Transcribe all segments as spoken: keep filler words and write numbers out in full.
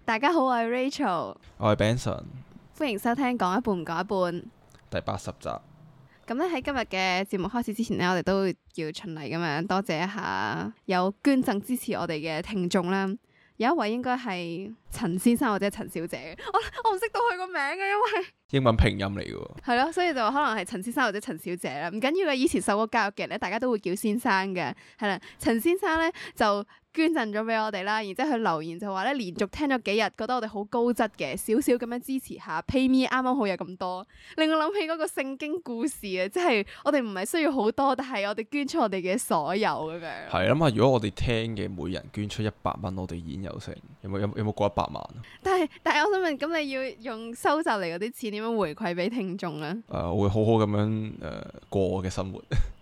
大家好，我係 Rachel， 我係 Benson， 歡迎收聽講一半唔講一半第八十集。 咁咧喺今日嘅節目開始之前呢，我哋都要循例咁樣多謝一下有捐贈支持我哋嘅聽眾啦。有一位應該係陳先生或者陳小姐，我我唔識到佢個名嘅，因為英文拼音嚟嘅喎。 係咯，所以就可能係陳先生或者陳小姐啦。唔緊要嘅，以前受過教育嘅人咧，大家都會叫先生嘅。係啦，陳先生咧就捐贈咗俾我哋啦，然之後佢留言就話咧，連續聽咗幾日，覺得我哋好高質嘅，少少咁樣支持下 PayMe 啱啱好有咁多，令我諗起嗰個聖經故事啊，即係我哋唔係需要好多，但係我哋捐出我哋嘅所有咁樣。 係諗下，如果我哋聽嘅每人捐出一百蚊，我哋已經有成有冇有有冇過一百萬？但係但係我想問，咁你要用收集嚟嗰啲錢點樣回饋俾聽眾啊？ 誒、呃，我會好好咁樣誒、呃、過我嘅生活。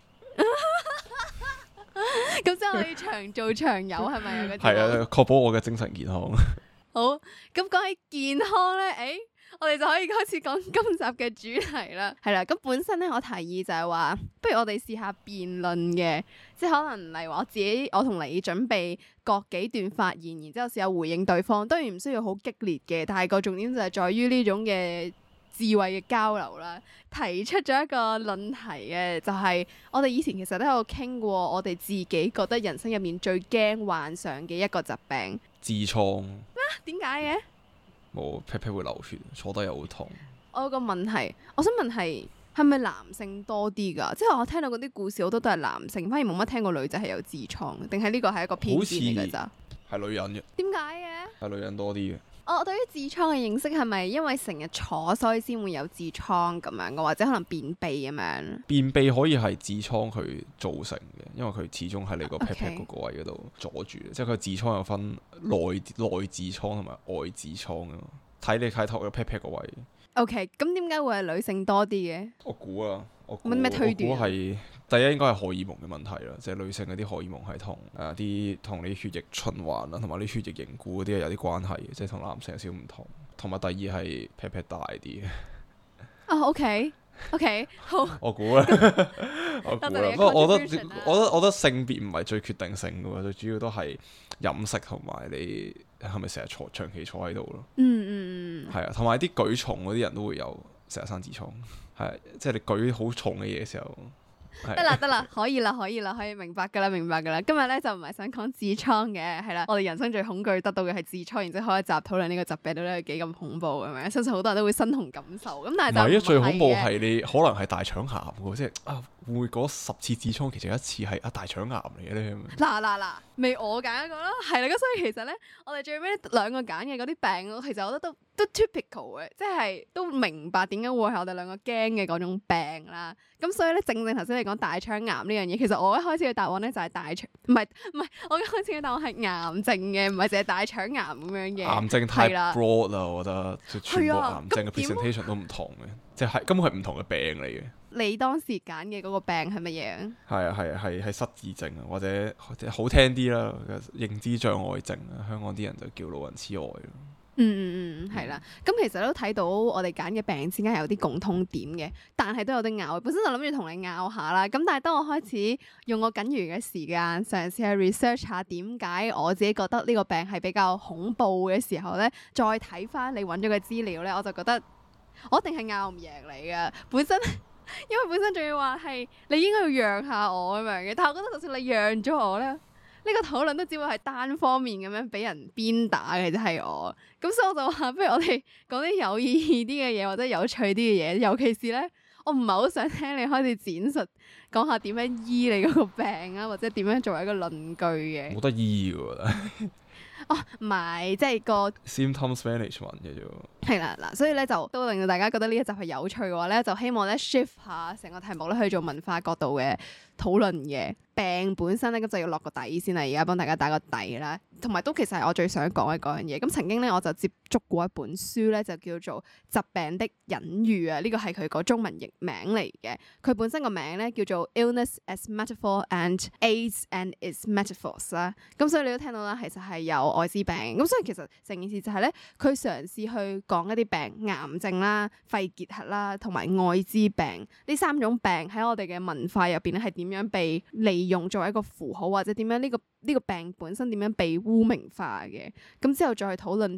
咁即係可以長做長有係咪啊？ 係啊，確保我嘅精神健康。 好，咁講起健康咧，誒、欸，我哋就可以開始講今集嘅主題啦。係啦，咁本身咧，我提議就係話，不如我哋試下辯論嘅，即係可能例如話我自己，我同你準備各幾段發言，然之後試下回應對方。當然唔需要好激烈嘅，但係個重點就係在於呢種嘅智慧嘅交流啦。提出咗一個論題嘅，就係、是、我哋以前其實都有傾過，我哋自己覺得人生入面最驚患上嘅一個疾病—— 痔瘡。咩？ 點解嘅？ 冇屁屁會流血，坐得又好痛。 我有個問題，我想問係係咪男性多啲㗎？即係我聽到嗰啲故事好多都係男性，反而冇乜聽過女仔係有痔瘡，定係呢個係一個偏見嚟㗎咋？ 係女人嘅。點解嘅？ 係女人多啲嘅。 我對於痔瘡嘅認識係咪因為成日坐所以先會有痔瘡咁樣嘅，或者可能便秘咁樣？便秘可以係痔瘡佢造成嘅，因為佢始終喺你個 pat pat 嗰個位嗰度阻住，Okay. 即係佢痔瘡有分內內痔瘡同埋外痔瘡啊，睇你睇頭個 pat pat 個位。OK， 咁點解會係女性多啲嘅？ 我估啊，我冇咩推斷。 我估係第一應該係荷爾蒙嘅問題啦，即係女性嗰啲荷爾蒙係同誒啲同你血液循環啊，同埋啲血液凝固嗰啲係有啲關係嘅，即係同男性有少少唔同。同埋第二係 pat pat 大啲嘅。 哦，OK，OK，好。 我估啦，我估啦。不過我覺得，我覺得，我覺得性別唔係最決定性嘅喎，最主要都係飲食同埋你係咪成日坐長期坐喺度咯。 嗯嗯嗯。係啊，同埋啲舉重嗰啲人都會有成日生痔瘡，係即係你舉好重嘅嘢嘅時候。 得啦得啦，可以啦可以啦，可以明白噶啦明白噶啦。今日咧就唔係想講痔瘡嘅，係啦，我哋人生最恐懼得到嘅係痔瘡，然之後開一集討論呢個疾病到底係幾咁恐怖咁樣，相信好多人都會身同感受。咁但係就唔係嘅。最恐怖係你可能係大腸癌喎，即係啊會唔會嗰十次痔瘡其中一次係啊大腸癌嚟嘅咧？ 嗱嗱嗱，未我揀一個啦，係啦，咁所以其實咧，我哋最尾兩個揀嘅嗰啲病，其實我覺得都都 typical 嘅，即係都明白點解會係我哋兩個驚嘅嗰種病啦。咁所以咧，正正頭先你講大腸癌呢樣嘢，其實我一開始嘅答案咧就係大腸，唔係唔係，我一開始嘅答案係癌症嘅，唔係淨係大腸癌咁樣嘅。癌症太 broad 啦，我覺得全部癌症嘅 presentation 都唔同嘅，即係根本係唔同嘅病嚟嘅。你當時揀嘅嗰個病係乜嘢？係啊係啊係係失智症啊，或者好聽啲啦，認知障礙症啊，香港啲人就叫老人痴呆咯。嗯嗯嗯，係啦。咁其實都睇到我哋揀嘅病之間係有啲共通點嘅，但係都有啲拗。本身就諗住同你拗下啦。咁但係當我開始用我僅餘嘅時間嘗試去 research 下點解我自己覺得呢個病係比較恐怖嘅時候咧，再睇翻你揾咗嘅資料咧，我就覺得我一定係拗唔贏你嘅。本身因為本身仲要話係你應該要讓下我咁樣嘅，但係我覺得就算你讓咗我咧，呢個討論都只會係單方面咁樣俾人鞭打嘅，就係我。咁所以我就話，不如我哋講啲有意義啲嘅嘢，或者有趣啲嘅嘢。尤其是咧，我唔係好想聽你開始展述講下點樣醫你嗰個病啊，或者點樣作為一個論據嘅。冇得醫㗎。哦，唔係，即係個 symptoms management 嘅啫。係啦，嗱，所以咧就都令到大家覺得呢一集係有趣嘅話咧，就希望咧 shift 下成個題目咧去做文化角度嘅討論嘅。病本身咧，咁就要落個底先啦。而家幫大家打個底啦，同埋都其實係我最想講嘅嗰樣嘢。咁曾經咧，我就接觸過一本書咧，就叫做《疾病的隱喻》啊。呢個係佢個中文譯名嚟嘅。佢本身個名咧叫做 Illness as Metaphor and AIDS and its Metaphors 啦。咁所以你都聽到啦，其實係有愛滋病。咁所以其實成件事就係咧，佢嘗試去講一啲病，癌症啦、肺結核啦，同埋愛滋病呢三種病喺我哋嘅文化入邊咧，係點樣被利用作為一個符號，或者點樣呢個呢個病本身點樣被污名化嘅。咁之後再去討論疾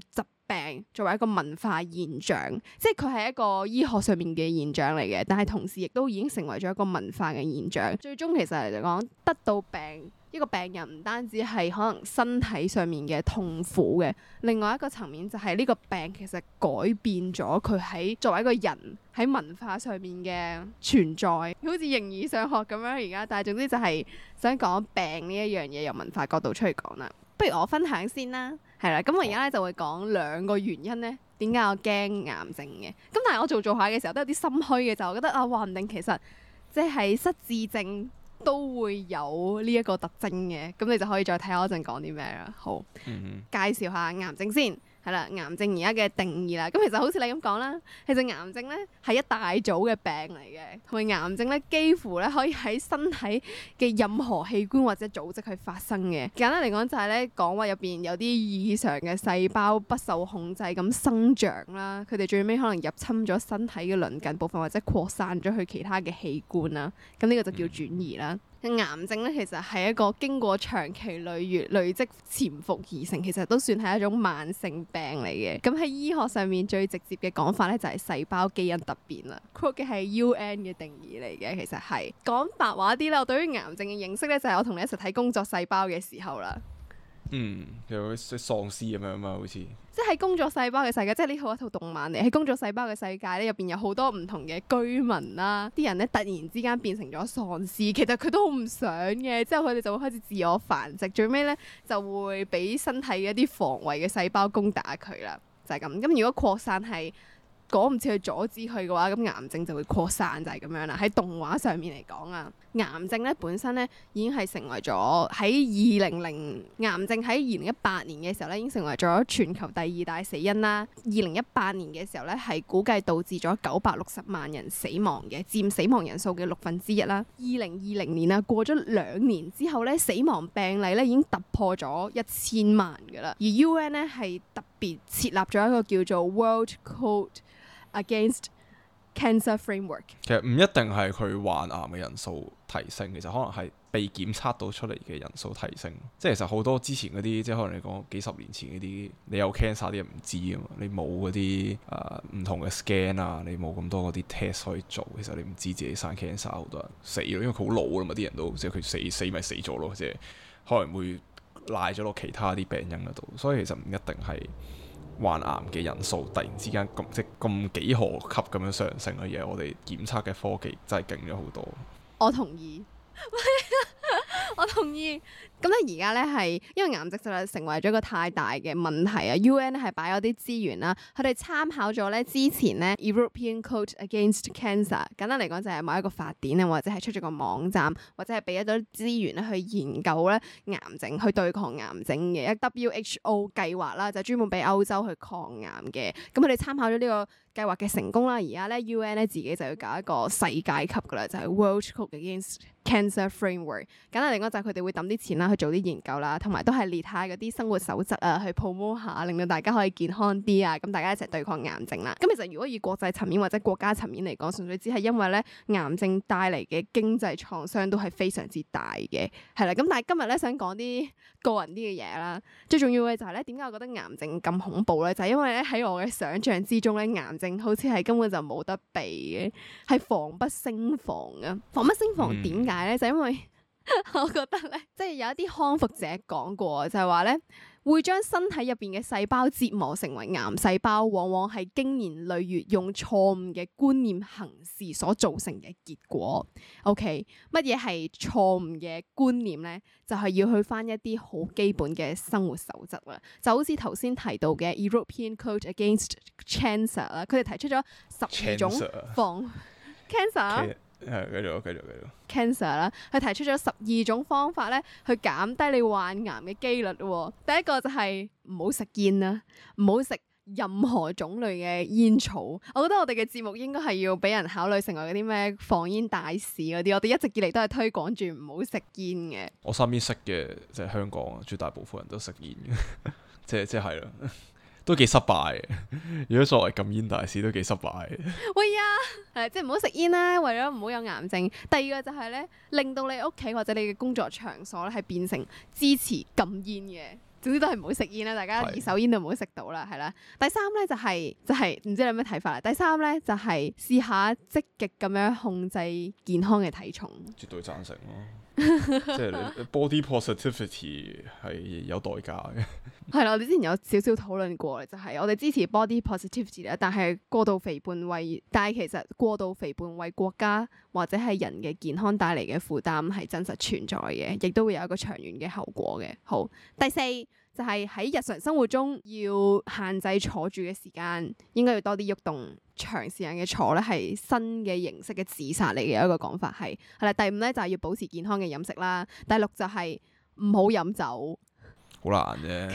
病作為一個文化現象，即係佢係一個醫學上面嘅現象嚟嘅，但係同時亦都已經成為咗一個文化嘅現象。最終其實嚟講，得到病一個病人唔單止係可能身體上面嘅痛苦嘅，另外一個層面就係呢個病其實改變咗佢喺作為一個人喺文化上面嘅存在，好似形而上學咁樣而家。但係總之就係想講病呢一樣嘢由文化角度出去講啦。不如我分享先啦，係啦，咁我而家咧就會講兩個原因咧，點解我驚癌症嘅。咁但係我做做下嘅時候都有啲心虛嘅，就我覺得啊，話唔定其實即係失智症都會有呢一個特徵嘅。咁你就可以再睇下我陣講啲咩啦。好，嗯、哼介紹下癌症先。係啦，癌症而家嘅定義啦，咁其實好似你咁講啦，其實癌症咧係一大組嘅病嚟嘅，同埋癌症咧幾乎咧可以喺身體嘅任何器官或者組織去發生嘅。簡單嚟講就係咧講話入邊有啲異常嘅細胞不受控制咁生長啦，佢哋最尾可能入侵咗身體嘅鄰近部分或者擴散咗去其他嘅器官啦，咁呢個就叫轉移啦。癌症咧其實係一個經過長期累月累積潛伏而成，其實都算係一種慢性病嚟嘅。咁喺醫學上面最直接嘅講法咧就係細胞基因突變啦。quote 嘅係 U N 嘅定義嚟嘅，其實係講白話啲咧，我對於癌症嘅認識咧就係我同你一齊睇工作細胞嘅時候啦。 嗯，有啲喪屍咁樣嘛，好似即係工作細胞嘅世界，即係呢套一套動漫嚟。喺工作細胞嘅世界咧，入邊有好多唔同嘅居民啦，啲人咧突然之間變成咗喪屍，其實佢都好唔想嘅。之後佢哋就會開始自我繁殖，最尾咧就會俾身體嘅一啲防衛嘅細胞攻打佢啦，就係咁。咁如果擴散係趕唔切去阻止佢嘅話，咁癌症就會擴散，就係咁樣啦。喺動畫上面嚟講啊，癌症咧本身咧已經係成為咗喺二零零癌症喺二零一八年嘅時候咧已經成為咗全球第二大死因啦。二零一八年嘅時候咧係估計導致咗九百六十萬人死亡嘅，佔死亡人數嘅六分之一啦。二零二零年啊，過咗兩年之後咧，死亡病例咧已經突破咗一千萬噶啦。而 U N 咧係特別設立咗一個叫做 World Code Against Cancer Framework。其實唔一定係佢患癌嘅人數提升，其實可能係被檢測到出嚟嘅人數提升。即係其實好多之前嗰啲，即係可能你講幾十年前嗰啲，你有 cancer 啲人唔知啊嘛，你冇嗰啲誒唔同嘅 scan 啊，你冇咁多嗰啲 test 可以做，其實你唔知自己生 cancer， 好多人死咯，因為佢好老啦嘛，啲人都即係佢死死咪死咗咯，即係可能會賴咗落其他啲病因嗰度，所以其實唔一定係患癌嘅人數突然之間咁即咁幾何級咁樣上升嘅嘢，我哋檢測嘅科技真係勁咗好多。 我同意。我同意。咁咧而家咧係因為癌症實在成為咗一個太大嘅問題啊 ，U N 咧係擺咗啲資源啦，佢哋參考咗咧之前咧 European Code Against Cancer， 簡單嚟講就係某一個法典啊，或者係出咗個網站，或者係俾咗資源咧去研究咧癌症，去對抗癌症嘅一 W H O 計劃啦，就專門俾歐洲去抗癌嘅。咁佢哋參考咗呢個計劃嘅成功啦，而家咧 U N 咧自己就要搞一個世界級噶啦，就係、是、World Code Against Cancer Framework。簡單嚟講就係佢哋會抌啲錢啦去做啲研究啦，同埋都係列下嗰啲生活守則啊，去 promote 下，令到大家可以健康啲啊，咁大家一齊對抗癌症啦。咁其實如果以國際層面或者國家層面嚟講，純粹只係因為咧癌症帶嚟嘅經濟創傷都係非常之大嘅，係啦。咁但係今日咧想講啲個人啲嘅嘢啦，最重要嘅就係咧點解我覺得癌症咁恐怖咧？就係因為咧喺我嘅想象之中咧，癌症好似係根本就冇得避嘅，係防不勝防啊！防不勝防點解咧？就因為我覺得咧，即係有一啲康復者講過，就係話咧，會將身體入邊嘅細胞折磨成為癌細胞，往往係經年累月用錯誤嘅觀念行事所造成嘅結果。OK，乜嘢係錯誤嘅觀念咧？就係要去翻一啲好基本嘅生活守則啦。就好似頭先提到嘅 European Code Against Cancer 啦，佢哋提出咗十二種防 cancer。 係，繼續，繼續，繼續。 Cancer 啦，佢提出咗十二種方法咧，去減低你患癌嘅機率喎。第一個就係唔好食煙啦，唔好食任何種類嘅煙草。我覺得我哋嘅節目應該係要俾人考慮成為嗰啲咩防煙大使嗰啲。我哋一直以嚟都係推廣住唔好食煙嘅。 我身邊識嘅即係香港啊，絕大部分人都食煙嘅，即係即係啦。都幾失敗嘅，如果作為禁煙大使都幾失敗嘅。喂呀，係即係唔好食煙啦，為咗唔好有癌症。第二個就係咧，令到你屋企或者你嘅工作場所咧係變成支持禁煙嘅總之都係唔好食煙啦，大家二手煙就唔好食到啦，係啦。第三咧就係、是、就係、是、唔知你有咩睇法啦。第三咧就係、是、試下積極咁樣控制健康嘅體重。 絕對贊成咯。即係你 body positivity 係有代價嘅。 係啦，我哋之前有少少討論過，就係、是、我哋支持 body positivity 咧，但係過度肥胖為，但係其實過度肥胖為國家或者係人嘅健康帶嚟嘅負擔係真實存在嘅，亦都會有一個長遠嘅後果嘅。好，第四就係、是、喺日常生活中要限制坐住嘅時間，應該要多啲喐動。長時間嘅坐咧係新嘅形式嘅自殺嚟嘅一個講法係係啦。第五咧就係、是、要保持健康嘅飲食啦。第六就係唔好飲酒， 好難啫。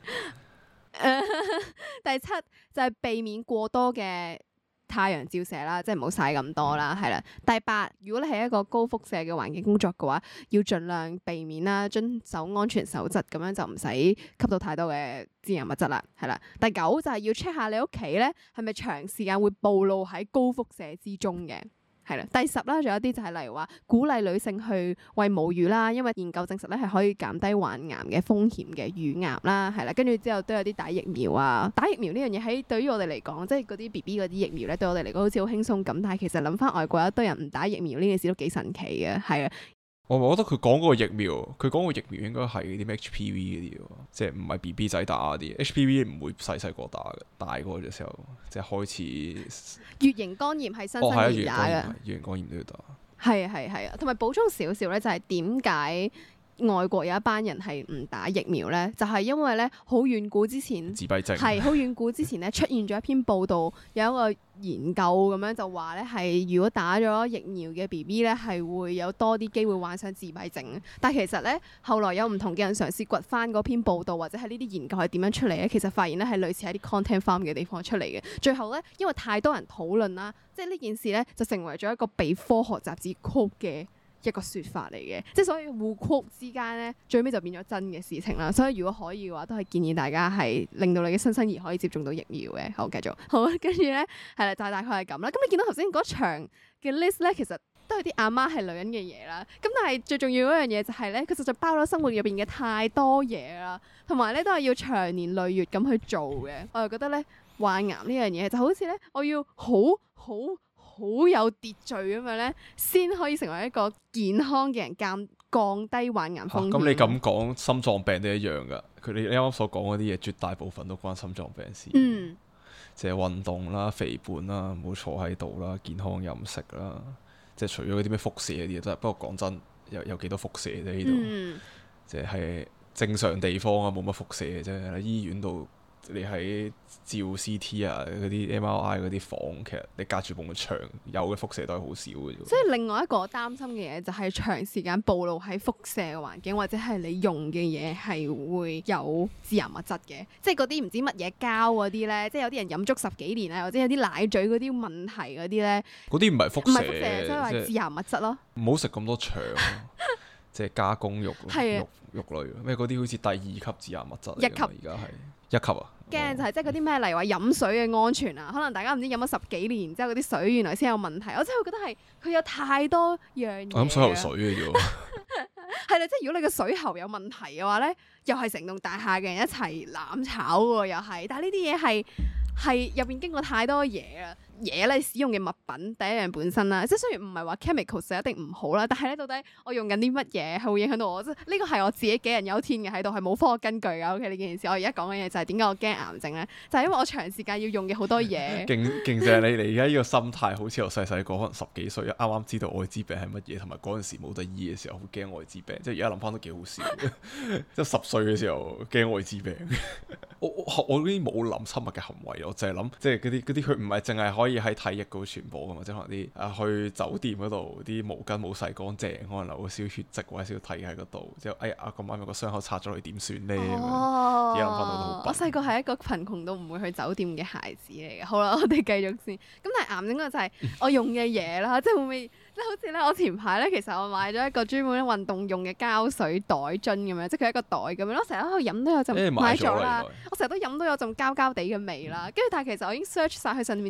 第七就係、是、避免過多嘅太陽照射啦，即係唔好曬咁多啦，係啦。第八，如果你係一個高輻射嘅環境工作嘅話，要盡量避免啦，遵守安全守則，咁樣就唔使吸到太多嘅致癌物質啦，係啦。第九就係要 check 下你屋企咧係咪長時間會暴露喺高輻射之中嘅。係啦，第十啦，仲有啲就係例如話鼓勵女性去餵母乳啦，因為研究證實咧係可以減低患癌嘅風險嘅乳癌啦，係啦，跟住之後都有啲打疫苗啊，打疫苗呢樣嘢喺對於我哋嚟講，即係嗰啲 B B 嗰啲疫苗咧，對我哋嚟講好似好輕鬆咁，但係其實諗翻外國有一堆人唔打疫苗呢件事都幾神奇嘅，係啊。 我覺得佢講嗰個疫苗，佢講個疫苗應該係啲咩 H P V 嗰啲喎，即係唔係 B B 仔打嗰啲 H P V 唔會細細個打嘅，大個嘅時候即係開始。乙型肝炎係新生兒打嘅，乙型肝炎都要打。係啊係係啊，同埋補充少少咧，就係點解外國有一班人係唔打疫苗咧？就係、是、因為咧好遠古之前，自閉症係好遠古之前咧出現咗一篇報道，有一個研究咁樣就話咧係如果打咗疫苗嘅 B B 咧係會有多啲機會患上自閉症。但係其實咧後來有唔同嘅人嘗試掘翻嗰篇報道或者係呢啲研究係點樣出嚟咧，其實發現咧係類似喺啲 content farm 嘅地方出嚟嘅。最後咧因為太多人討論啦，即係呢件事咧就成為咗一個被科學雜誌 quote 嘅一個説法嚟嘅，即係所以互 quote 之間咧，最尾就變咗真嘅事情啦。所以如果可以嘅話，都係建議大家係令到你嘅新生兒可以接種到疫苗嘅。好，繼續好，跟住咧係啦，就係大概係咁啦。咁你見到頭先嗰場嘅 list 咧，其實都係啲阿媽係女人嘅嘢啦。咁但係最重要嗰樣嘢就係咧，佢實在包咗生活入邊嘅太多嘢啦，同埋咧都係要長年累月咁去做嘅。我就覺得咧，患癌呢樣嘢就好似咧，我要好好。好有秩序咁樣咧，先可以成為一個健康嘅人，降降低患癌風險。咁、啊、你咁講，心臟病都一樣噶。佢哋你啱啱所講嗰啲嘢，絕大部分都關心臟病事。嗯，即係運動啦、肥胖啦、唔好坐喺度啦、健康飲食啦。即係除咗嗰啲咩輻射嗰啲嘢，真係不過講真，有有幾多輻射啫？呢度、嗯、即係正常地方啊，冇乜輻射嘅啫。喺醫院度。你喺照 C T 啊，嗰啲 M R I 嗰啲房，其實你隔住埲牆有嘅輻射都係好少嘅啫。所以另外一個我擔心嘅嘢就係長時間暴露喺輻射嘅環境，或者係你用嘅嘢係會有致癌物質嘅，即係嗰啲唔知乜嘢膠嗰啲咧，即係有啲人飲足十幾年啊，或者有啲奶嘴嗰啲問題嗰啲咧，嗰啲唔係輻射，唔係輻射，所以話致癌物質咯。唔好食咁多腸，即係加工肉肉肉類咩嗰啲好似第二級致癌物質嚟㗎，一級而家係。一級啊！驚就係即係嗰啲咩，例如話飲水嘅安全啊，可能大家唔知飲咗十幾年之後嗰啲水原來先有問題，我真係覺得係佢有太多樣嘢。我飲水喉水嘅啫喎。係啦，即係如果你個水喉有問題嘅話咧，又係成棟大廈嘅人一齊攬炒喎，又係。但係呢啲嘢係係入邊經過太多嘢啦。嘢咧使用嘅物品第一樣本身啦，即係雖然唔係話 chemicals 就一定唔好啦，但係咧到底我用緊啲乜嘢係會影響到我？即係呢個係我自己杞人憂天嘅喺度，係冇科學根據㗎。OK 呢件事，我而家講嘅嘢就係點解我驚癌症咧？就係、是、因為我長時間要用嘅好多嘢。勁勁正你你而家呢個心態，好似我細細個可能十幾歲啱啱知道愛滋病係乜嘢，同埋嗰陣時冇得醫嘅時候好驚愛滋病。即係而家諗翻都幾好笑。即係十歲嘅時候驚愛滋病。我我我呢啲冇諗親密嘅行為，我淨係諗即係嗰啲嗰啲佢唔係淨係可以喺體液嗰度傳播㗎嘛，即係可能啲啊去酒店嗰度啲毛巾冇洗乾淨，可能留個少血跡或者少體喺嗰度，之後哎呀咁啱有個傷口拆咗落去點算咧？哦，而家諗翻到都好。我細個係一個貧窮到唔會去酒店嘅孩子嚟嘅。好啦，我哋繼續先。咁但係癌症嗰個就係我用嘅嘢啦，即係會唔會？即係好似咧，我前排咧，其實我買咗一個專門運動用嘅膠水袋樽咁樣，即係佢一個袋咁樣咯。成日喺度飲都有陣，買咗啦。我成日都飲都有陣膠膠地嘅味啦。跟住但係其實我已經 search 晒佢上面啲 label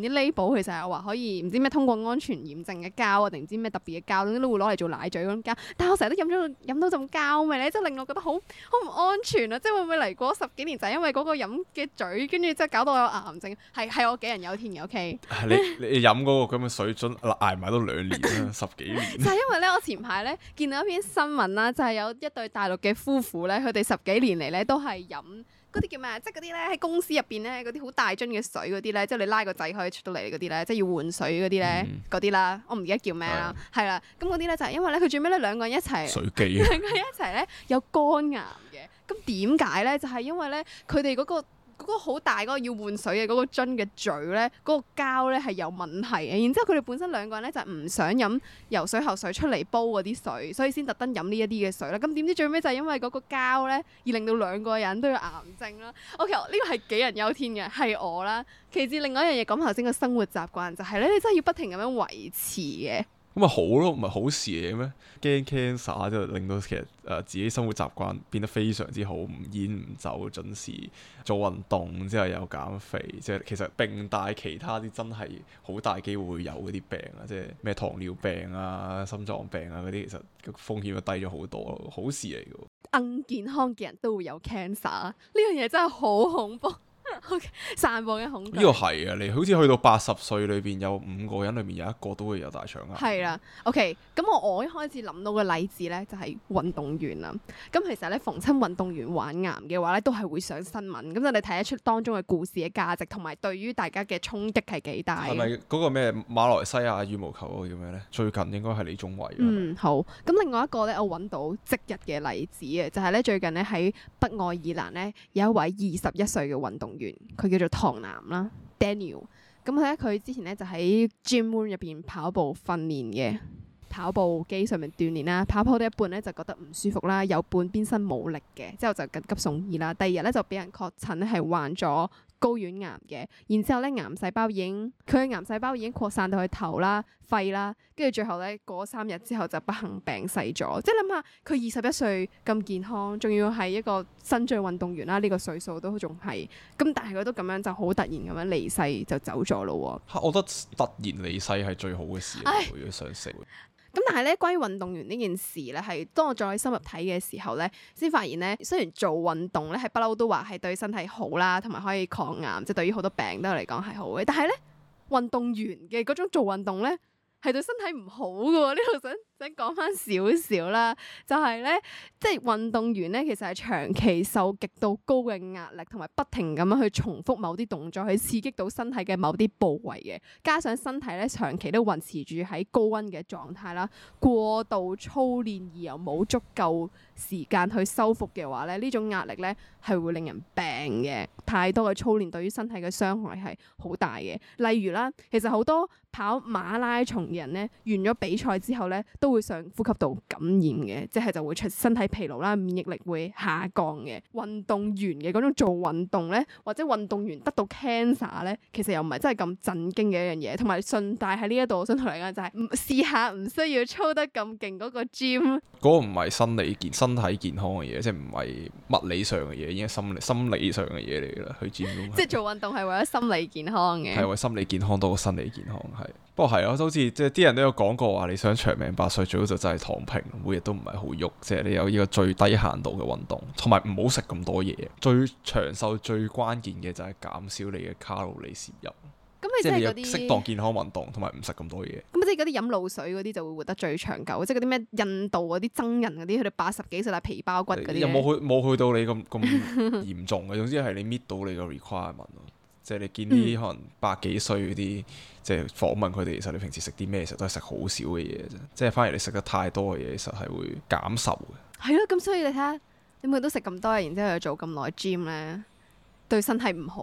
寶其實係話可以唔知咩通過安全驗證嘅膠啊，定唔知咩特別嘅膠，總之都會攞嚟做奶嘴嗰種膠。但係我成日都飲咗飲到陣膠味咧，即係令我覺得好好唔安全啊！即係會唔會嚟過十幾年就係因為嗰個飲嘅嘴，跟住即係搞到我有癌症？係係我杞人憂天嘅 OK。 你你飲嗰個咁嘅水樽捱埋都兩年啦，十幾年。 就係因為咧，我前排咧見到一篇新聞啦，就係、是、有一對大陸嘅夫婦咧，佢哋十幾年嚟咧都係飲嗰啲叫咩？即係嗰啲咧喺公司入邊咧嗰啲好大樽嘅水嗰啲咧，即係你拉個掣可以出到嚟嗰啲咧，即係要換水嗰啲咧嗰啲啦，我唔記得叫咩啦，係啦。咁嗰啲咧就係因為咧佢最尾咧兩個人一齊， 水機兩個人一齊咧有肝癌嘅。咁點解咧？就係、是、因為咧佢哋嗰個。嗰個好大嗰個要換水嘅嗰個樽嘅嘴咧，嗰、嗰個膠咧係有問題嘅。然之後佢哋本身兩個人咧就唔想飲由水喉水出嚟煲嗰啲水，所以先特登飲呢一啲嘅水啦。咁點知最尾就係因為嗰個膠咧，而令到兩個人都有癌症啦。OK，呢個係杞人憂天嘅，係我啦。其次另外一樣嘢講頭先個生活習慣就係咧，你真係要不停咁樣維持嘅。 咁咪好咯，唔係好事嚟嘅咩？驚 cancer 就令到其實誒、呃、自己生活習慣變得非常之好，唔煙唔酒，準時做運動之後又減肥，即係其實並帶其他啲真係好大機會會有嗰啲病啊，即係咩糖尿病啊、心臟病啊嗰啲，其實個風險就低咗好多咯，好事嚟嘅。 硬健康嘅人都會有 cancer，呢樣嘢真係好恐怖。Okay， 散播嘅恐懼。 呢個係啊，你好似去到八十歲裏邊有五個人裏面有一個都會有大腸癌。 係啦，OK，咁我我一開始諗到嘅例子咧就係、是、運動員啦。咁其實咧逢親運動員患癌嘅話咧，都係會上新聞。咁就你睇得出當中嘅故事嘅價值，同埋對於大家嘅衝擊係幾大。係咪嗰個咩馬來西亞羽毛球嗰個叫咩咧？最近應該係李宗偉。 嗯，好。咁另外一個咧，我揾到即日嘅例子嘅，就係、是、咧最近咧喺北愛爾蘭咧有一位二十一歲嘅運動員。佢叫做唐南啦 Daniel， 咁佢咧佢之前咧就喺 gym room 入邊跑步訓練嘅，跑步機上面鍛鍊啦，跑跑到一半咧就覺得唔舒服啦，有半邊身冇力嘅，之後就緊急送醫啦。第二日咧就俾人確診咧係患咗睾丸癌嘅，然之後咧癌細胞已經佢嘅癌細胞已經擴散到去頭啦、肺啦，跟住最後咧過三日之後就不幸病逝咗。即係諗下佢二十一歲咁健康，仲要係一個新晉運動員啦，呢、這個歲數都仲係咁，但係佢都咁樣就好突然咁樣離世就走咗咯。 我覺得突然離世係最好嘅事，如果想死。 咁但係咧，關於運動員呢件事咧，係當我再深入睇嘅時候咧，先發現咧，雖然做運動咧係不嬲都話係對身體好啦，同埋可以抗癌，即係對於好多病都嚟講係好嘅。但係咧，運動員嘅嗰種做運動咧，係對身體唔好嘅喎。呢度想想講翻少少啦，就係咧，即係運動員咧，其實係長期受極度高嘅壓力，同埋不停咁樣去重複某啲動作，去刺激到身體嘅某啲部位嘅。加上身體咧長期都維持住喺高溫嘅狀態啦，過度操練而又冇足夠時間去修復嘅話咧，呢種壓力咧係會令人病嘅。太多嘅操練對於身體嘅傷害係好大嘅。例如啦，其實好多跑馬拉松嘅人咧，完咗比賽之後咧，都會上呼吸道感染嘅，即係就會出身體疲勞啦，免疫力會下降嘅。運動員嘅嗰種做運動咧，或者運動員得到 cancer 咧，其實又唔係真係咁震驚嘅一樣嘢。同埋順帶喺呢一度，我想同你講就係、是，唔試下唔需要操得咁勁嗰個 gym。嗰個唔係生理健身體健康嘅嘢，即係唔係物理上嘅嘢，已經係心理心理上嘅嘢嚟㗎啦。去 gym 即係做運動係為咗心理健康嘅， 係為心理健康多過生理健康係。不過係咯，好似即係啲人都有講過話，你想長命百歲，最好就真係躺平，每日都唔係好喐，即係你有呢個最低限度嘅運動，同埋唔好食咁多嘢。最長壽最關鍵嘅就係減少你嘅卡路里攝入。 咁你即係嗰啲適當健康運動，同埋唔食咁多嘢。 咁即係嗰啲飲露水嗰啲就會活得最長久，即係嗰啲咩印度嗰啲僧人嗰啲，佢哋八十幾歲但係皮包骨嗰啲。 有冇去冇去到你咁咁嚴重嘅？總之係你搣到你個 requirement 咯。即係你見啲可能百幾歲嗰啲，嗯、即係訪問佢哋，其實你平時食啲咩？其實都係食好少嘅嘢啫。即係反而你食得太多嘅嘢，其實係會減壽嘅。 係咯，咁所以你睇下，你每日都食咁多，然之後又做咁耐 gym 咧，對身體唔好。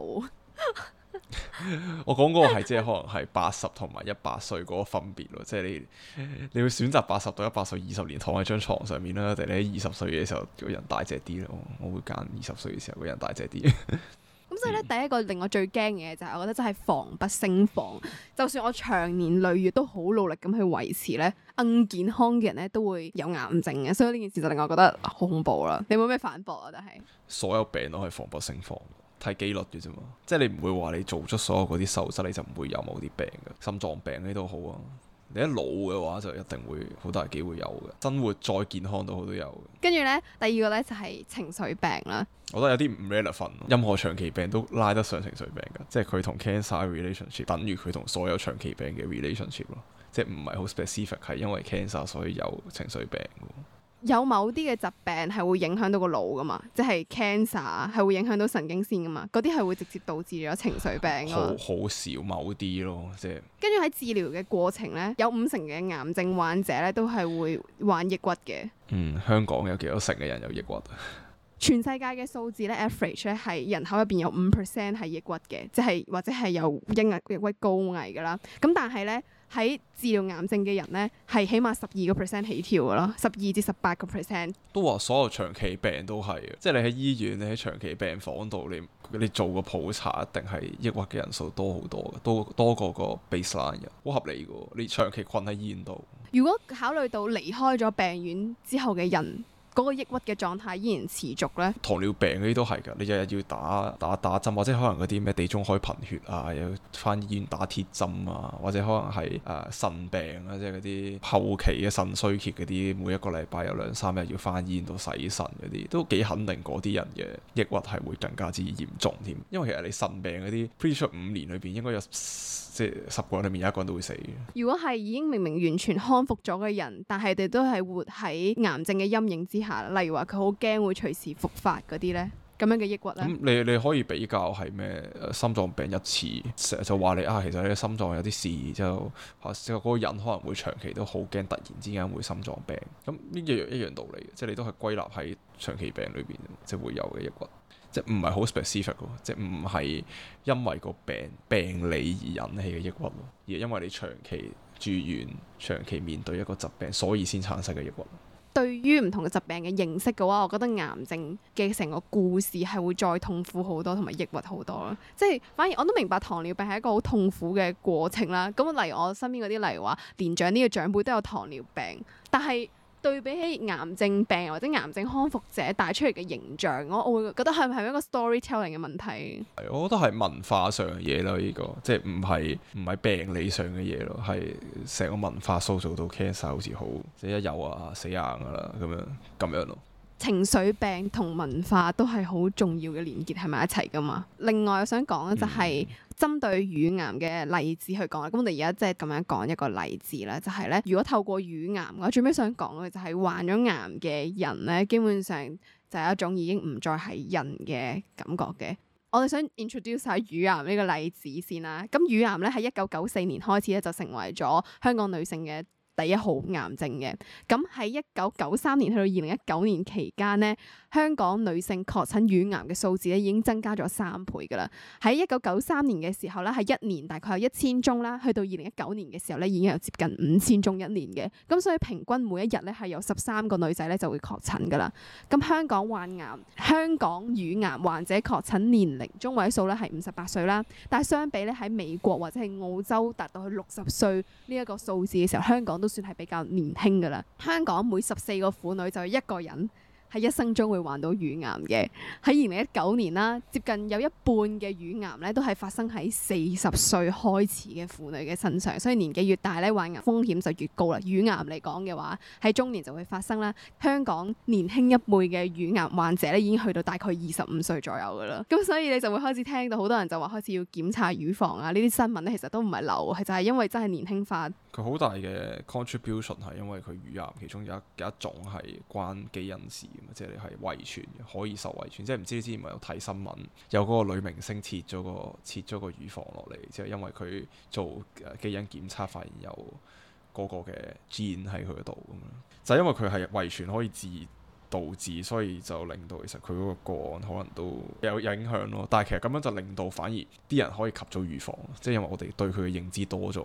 我講嗰個係即係可能係八十同埋一百歲嗰個分別咯。即係你你會選擇八十到一百歲二十年躺喺張床上面啦，定你喺二十歲嘅時候個人大隻啲咯？我會揀二十歲嘅時候個人大隻啲。 咁所以咧，第一個令我最驚嘅就係，我覺得真係防不勝防。就算我長年累月都好努力咁去維持咧，硬健康嘅人咧都會有癌症嘅。所以呢件事就令我覺得好恐怖啦。你有冇咩反駁啊？但係所有病都係防不勝防。 睇機率嘅啫嘛。即係你唔會話你做足所有嗰啲素質你就唔會有某啲病嘅，心臟病呢都好啊。你一老嘅話就一定會好大機會有嘅，生活再健康都好都有嘅。 跟住呢，第二個呢就係情緒病啦。 我覺得有啲唔 relevant，任何長期病都拉得上情緒病㗎，即係佢同 cancer relationship 等於佢同所有長期病嘅 relationship 咯，即係唔係好 specific 係因為 cancer 所以有情緒病嘅。 有某啲嘅疾病係會影響到個腦噶嘛，即係 cancer 係會影響到神經線噶嘛，嗰啲係會直接導致咗情緒病。好好少某啲咯，即係。跟住喺治療嘅過程咧，有五成嘅癌症患者咧都係會患抑鬱嘅。嗯， 香港有幾多成嘅人有抑鬱？ 全世界嘅數字咧 average 咧係人口入邊有五 percent 係抑鬱嘅，即係或者係有抑鬱抑鬱高危噶啦。咁但係咧喺治療癌症嘅人咧係起碼十二個 percent 起跳噶咯，十二至十八個 percent。 都話所有長期病都係，即係你喺醫院，你喺長期病房度，你你做個普查，一定係抑鬱嘅人數多好多嘅，多多過個 baseline 嘅，好合理嘅。你長期困喺醫院度， 如果考慮到離開咗病院之後嘅人，嗰個抑鬱嘅狀態依然持續咧， 糖尿病嗰啲都係㗎，你日日要打打打針，或者可能嗰啲咩地中海貧血啊，又要返醫院打鐵針啊，或者可能係誒腎病啊，即係嗰啲後期嘅腎衰竭嗰啲，每一個禮拜有兩三日要返醫院度洗腎嗰啲，都幾肯定嗰啲人嘅抑鬱係會更加之嚴重添。因為其實你腎病嗰啲 pretty sure 五年裏邊應該有即係十個人裏面有一個人都會死嘅。 如果係已經明明完全康復咗嘅人，但係佢哋都係活喺癌症嘅陰影之下，例如話佢好驚會隨時復發嗰啲咧，咁樣嘅抑鬱咧。咁你你可以比較係咩？心臟病一次，成日就話你啊，其實你嘅心臟有啲事，就即係嗰個人可能會長期都好驚，突然之間會心臟病。咁呢一樣一樣道理，即係你都係歸納喺長期病裏邊，即係會有嘅抑鬱。即係唔係好 specific 喎，即係唔係因為個病病理而引起嘅抑鬱咯，而係因為你長期住院、長期面對一個疾病，所以先產生嘅抑鬱。 對於唔同嘅疾病嘅認識嘅話，我覺得癌症嘅成個故事係會再痛苦好多，同埋抑鬱好多咯。即係反而我都明白糖尿病係一個好痛苦嘅過程啦。咁例如我身邊嗰啲，例如話年長啲嘅長輩都有糖尿病，但係對比起癌症病或者癌症康復者帶出嚟嘅形象，我我會覺得係唔係一個 storytelling 嘅問題？ 係，我覺得係文化上嘅嘢咯，呢個即係唔係唔係病理上嘅嘢咯，係成個文化塑造到 cancer 好似好即係一有啊死硬噶啦咁樣咁樣咯。 情緒病同文化都係好重要嘅連結喺埋一齊噶嘛。另外我想講嘅就係針對乳癌嘅例子去講啦。咁我哋而家即係咁樣講一個例子啦，就係咧，如果透過乳癌，我最尾想講嘅就係患咗癌嘅人咧，基本上就係一種已經唔再係人嘅感覺嘅。我哋想 introduce 下乳癌呢個例子先啦。咁乳癌咧喺一九九四年開始咧就成為咗香港女性嘅第一號癌症嘅。咁喺一九九三年去到二零一九年期間咧，香港女性確診乳癌嘅數字咧已經增加咗三倍㗎啦。喺一九九三年嘅時候咧，係一年大概有一千宗啦，去到二零一九年嘅時候咧，已經有接近五千宗一年嘅。咁所以平均每一日咧係有十三個女仔咧就會確診㗎啦。咁香港患癌，香港乳癌患者確診年齡中位數咧係五十八歲啦，但係相比咧喺美國或者係澳洲達到去六十歲呢一個數字嘅時候，香港都算係比較年輕㗎啦。香港每十四個婦女就有一個人喺一生中會患到乳癌嘅。喺二零一九年啦，接近有一半嘅乳癌咧都係發生喺四十歲開始嘅婦女嘅身上，所以年紀越大咧，患癌風險就越高啦。乳癌嚟講嘅話，喺中年就會發生啦。香港年輕一輩嘅乳癌患者咧已經去到大概二十五歲左右噶啦。咁所以你就會開始聽到好多人就話開始要檢查乳房啊，呢啲新聞咧其實都唔係流，係就係因為真係年輕化。 佢好大嘅 contribution 係因為佢乳癌其中有一有一種係關基因事。即係你係遺傳嘅，可以受遺傳。即係唔知你之前咪有睇新聞，有嗰個女明星切咗個切咗個乳房落嚟，即係因為佢做基因檢測發現有嗰個嘅 gene 喺佢度咁樣。就係因為佢係遺傳可以致導致，所以就令到其實佢嗰個個案可能都有影響咯。但係其實咁樣就令到反而啲人可以及早預防，即係因為我哋對佢嘅認知多咗。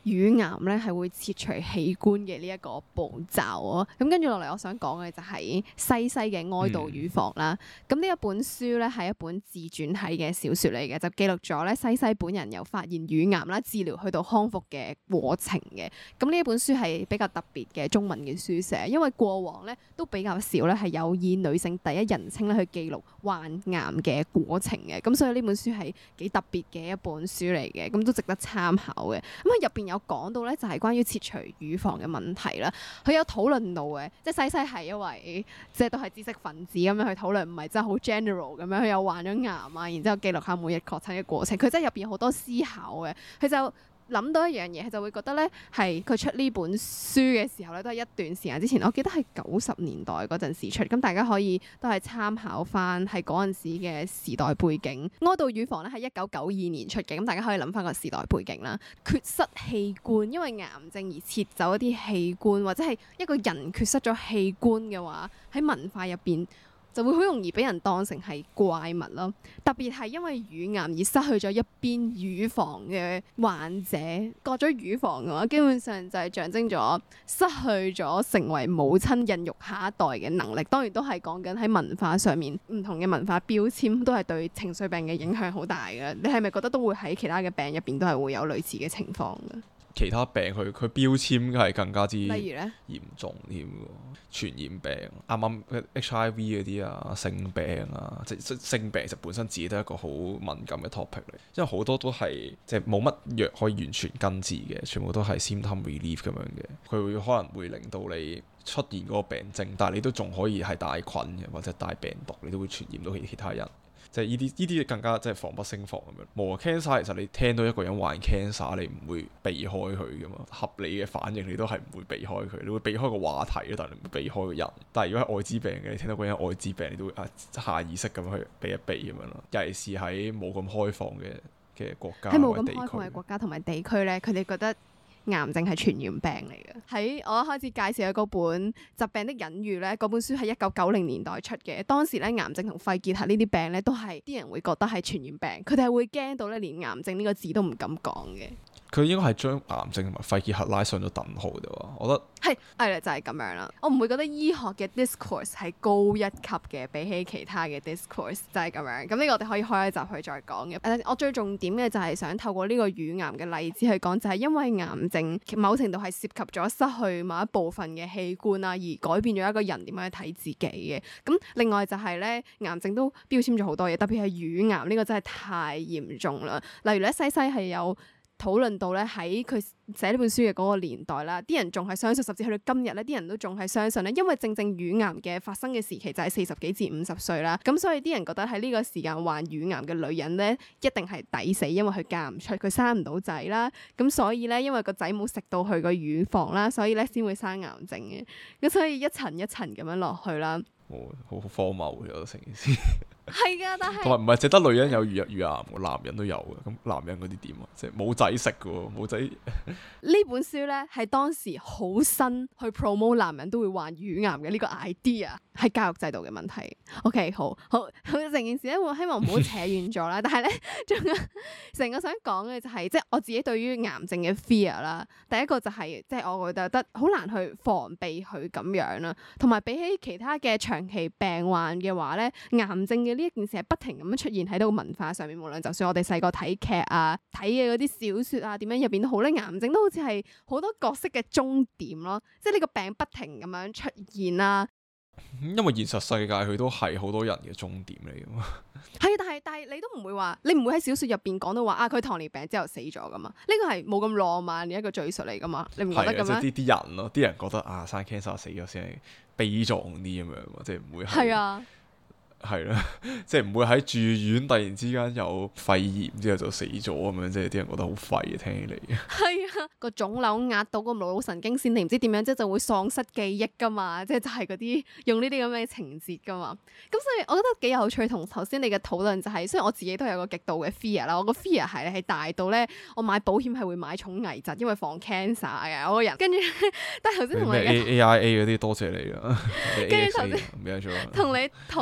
乳癌咧係會切除器官嘅呢一個步驟啊。咁跟住落嚟，我想講嘅就係西西嘅哀悼乳房啦。咁呢、嗯、一本書咧係一本自傳體嘅小說嚟嘅，就記錄咗咧西西本人由發現乳癌啦、治療去到康復嘅過程嘅。咁呢一本書係比較特別嘅中文嘅書寫，因為過往咧都比較少咧係有以女性第一人稱咧去記錄患癌嘅過程嘅。咁所以呢本書係幾特別嘅一本書嚟嘅，咁都值得參考嘅。咁喺入邊有講到咧，就係關於切除乳房嘅問題啦。佢有討論到嘅，即係西西係一位即係都係知識分子咁樣去討論，唔係真係好 general 咁樣。佢又患咗癌啊，然之後記錄下每日確診嘅過程。佢真係入邊有好多思考嘅，佢就諗到一樣嘢，佢就會覺得咧，係佢出呢本書嘅時候咧，都係一段時間之前，我記得係九十年代嗰陣時出，咁大家可以都係參考翻係嗰陣時嘅時代背景。哀悼乳房咧係一九九二年出嘅，咁大家可以諗翻個時代背景啦。缺失器官，因為癌症而切走一啲器官，或者係一個人缺失咗器官嘅話，喺文化入邊就會好容易俾人當成係怪物咯，特別係因為乳癌而失去咗一邊乳房嘅患者，割咗乳房嘅話，基本上就係象徵咗失去咗成為母親孕育下一代嘅能力。當然都係講緊喺文化上面唔同嘅文化標籤，都係對情緒病嘅影響好大嘅。你係咪覺得都會喺其他嘅病入邊都係會有類似嘅情況嘅？ 其他病佢佢標籤係更加之例如咧嚴重添喎，傳染病啱啱 H I V 嗰啲啊，性病啊，即係性病其實本身自己都係一個好敏感嘅 topic 嚟，因為好多都係即係冇乜藥可以完全根治嘅，全部都係 symptom relief 咁樣嘅，佢會可能會令到你出現嗰個病症，但係你都仲可以係帶菌嘅或者帶病毒，你都會傳染到其他人。即係呢啲呢啲更加即係防不勝防咁樣。冇啊 cancer 其實你聽到一個人患 cancer，你唔會避開佢噶嘛。合理嘅反應你都係唔會避開佢，你會避開個話題咯，但係你唔會避開個人。但係如果係愛滋病嘅，你聽到嗰人愛滋病，你都會啊下意識咁去避一避咁樣咯。尤其是喺冇咁開放嘅嘅國家， 喺冇咁開放嘅國家同埋地區咧，佢哋覺得癌症係傳染病嚟嘅。喺我一開始介紹嘅嗰本《疾病的隱喻》咧，嗰本書係一九九零年代出嘅。當時咧，癌症同肺結核呢啲病咧，都係啲人會覺得係傳染病，佢哋係會驚到咧，連癌症呢個字都唔敢講嘅。 佢應該係將癌症同埋肺結核拉上咗等號啫喎，我覺得係係啦，就係、是、咁樣啦。我唔會覺得醫學嘅 discourse 係高一級嘅，比起其他嘅 discourse 就係咁樣。咁呢個我哋可以開一集去再講嘅。誒，我最重點嘅就係想透過呢個乳癌嘅例子去講，就係因為癌症某程度係涉及咗失去某一部分嘅器官啊，而改變咗一個人點樣去睇自己嘅。咁另外就係咧，癌症都標籤咗好多嘢，特別係乳癌呢個真係太嚴重啦。例如咧，西西係有討論到咧，喺佢寫呢本書嘅嗰個年代啦，啲人仲係相信，甚至去到今日咧，啲人都仲係相信咧，因為正正乳癌嘅發生嘅時期就係四十幾至五十歲啦，咁所以啲人覺得喺呢個時間患乳癌嘅女人咧，一定係抵死，因為佢嫁唔出，佢生唔到仔啦，咁所以咧，因為個仔冇食到佢個乳房啦，所以咧先會生癌症嘅，咁所以一層一層咁樣落去啦。 哦，好荒謬嘅成件事。 係噶，但係同埋唔係淨得女人有乳乳癌，男人都有嘅。咁男人嗰啲點啊？即係冇仔食嘅，冇仔。 呢本書咧係當時好新去 promote 男人都會患乳癌嘅呢個 idea，係教育制度嘅問題。OK， 好好好，成件事咧，我希望唔好扯遠咗啦。但係咧，仲有成個想講嘅就係、是，即係我自己對於癌症嘅 fear 啦。第一個就係、是，即係我覺得好難去防備佢咁樣啦。同埋比起其他嘅長期病患嘅話咧，癌症嘅呢一件事係不停咁樣出現喺度文化上面，無論就算我哋細個睇劇啊、睇嘅嗰啲小說啊，點樣入邊都好咧，癌症都好似係好多角色嘅終點咯，即係呢個病不停咁樣出現啦。 因為現實世界佢都係好多人嘅終點嚟噶嘛。 係啊，但係但係你都唔會話，你唔會喺小說入邊講到話啊，佢糖尿病之後死咗噶嘛？呢個係冇咁浪漫嘅一個敘述嚟噶嘛？你唔覺得咁樣？ 即係啲啲人咯，啲人覺得啊，生 cancer 死咗先係悲壯啲咁樣，即係唔會係。係啊。係啦，即係唔會喺住院突然之間有肺炎之後就死咗咁樣，即係啲人覺得好廢嘅，聽起嚟。係啊，個腫瘤壓到個腦腦神經線，你唔知點樣，即係就會喪失記憶噶嘛，即係就係嗰啲用呢啲咁嘅情節噶嘛。咁所以我覺得幾有趣，同頭先你嘅討論就係、是，雖然我自己都有個極度嘅 fear 啦，我個 fear 係係大到咧，我買保險係會買重危疾，因為防 cancer 嘅我個人。跟住，但係頭先同你 A I A 嗰啲多謝你啊。 跟住頭先同你討論嘅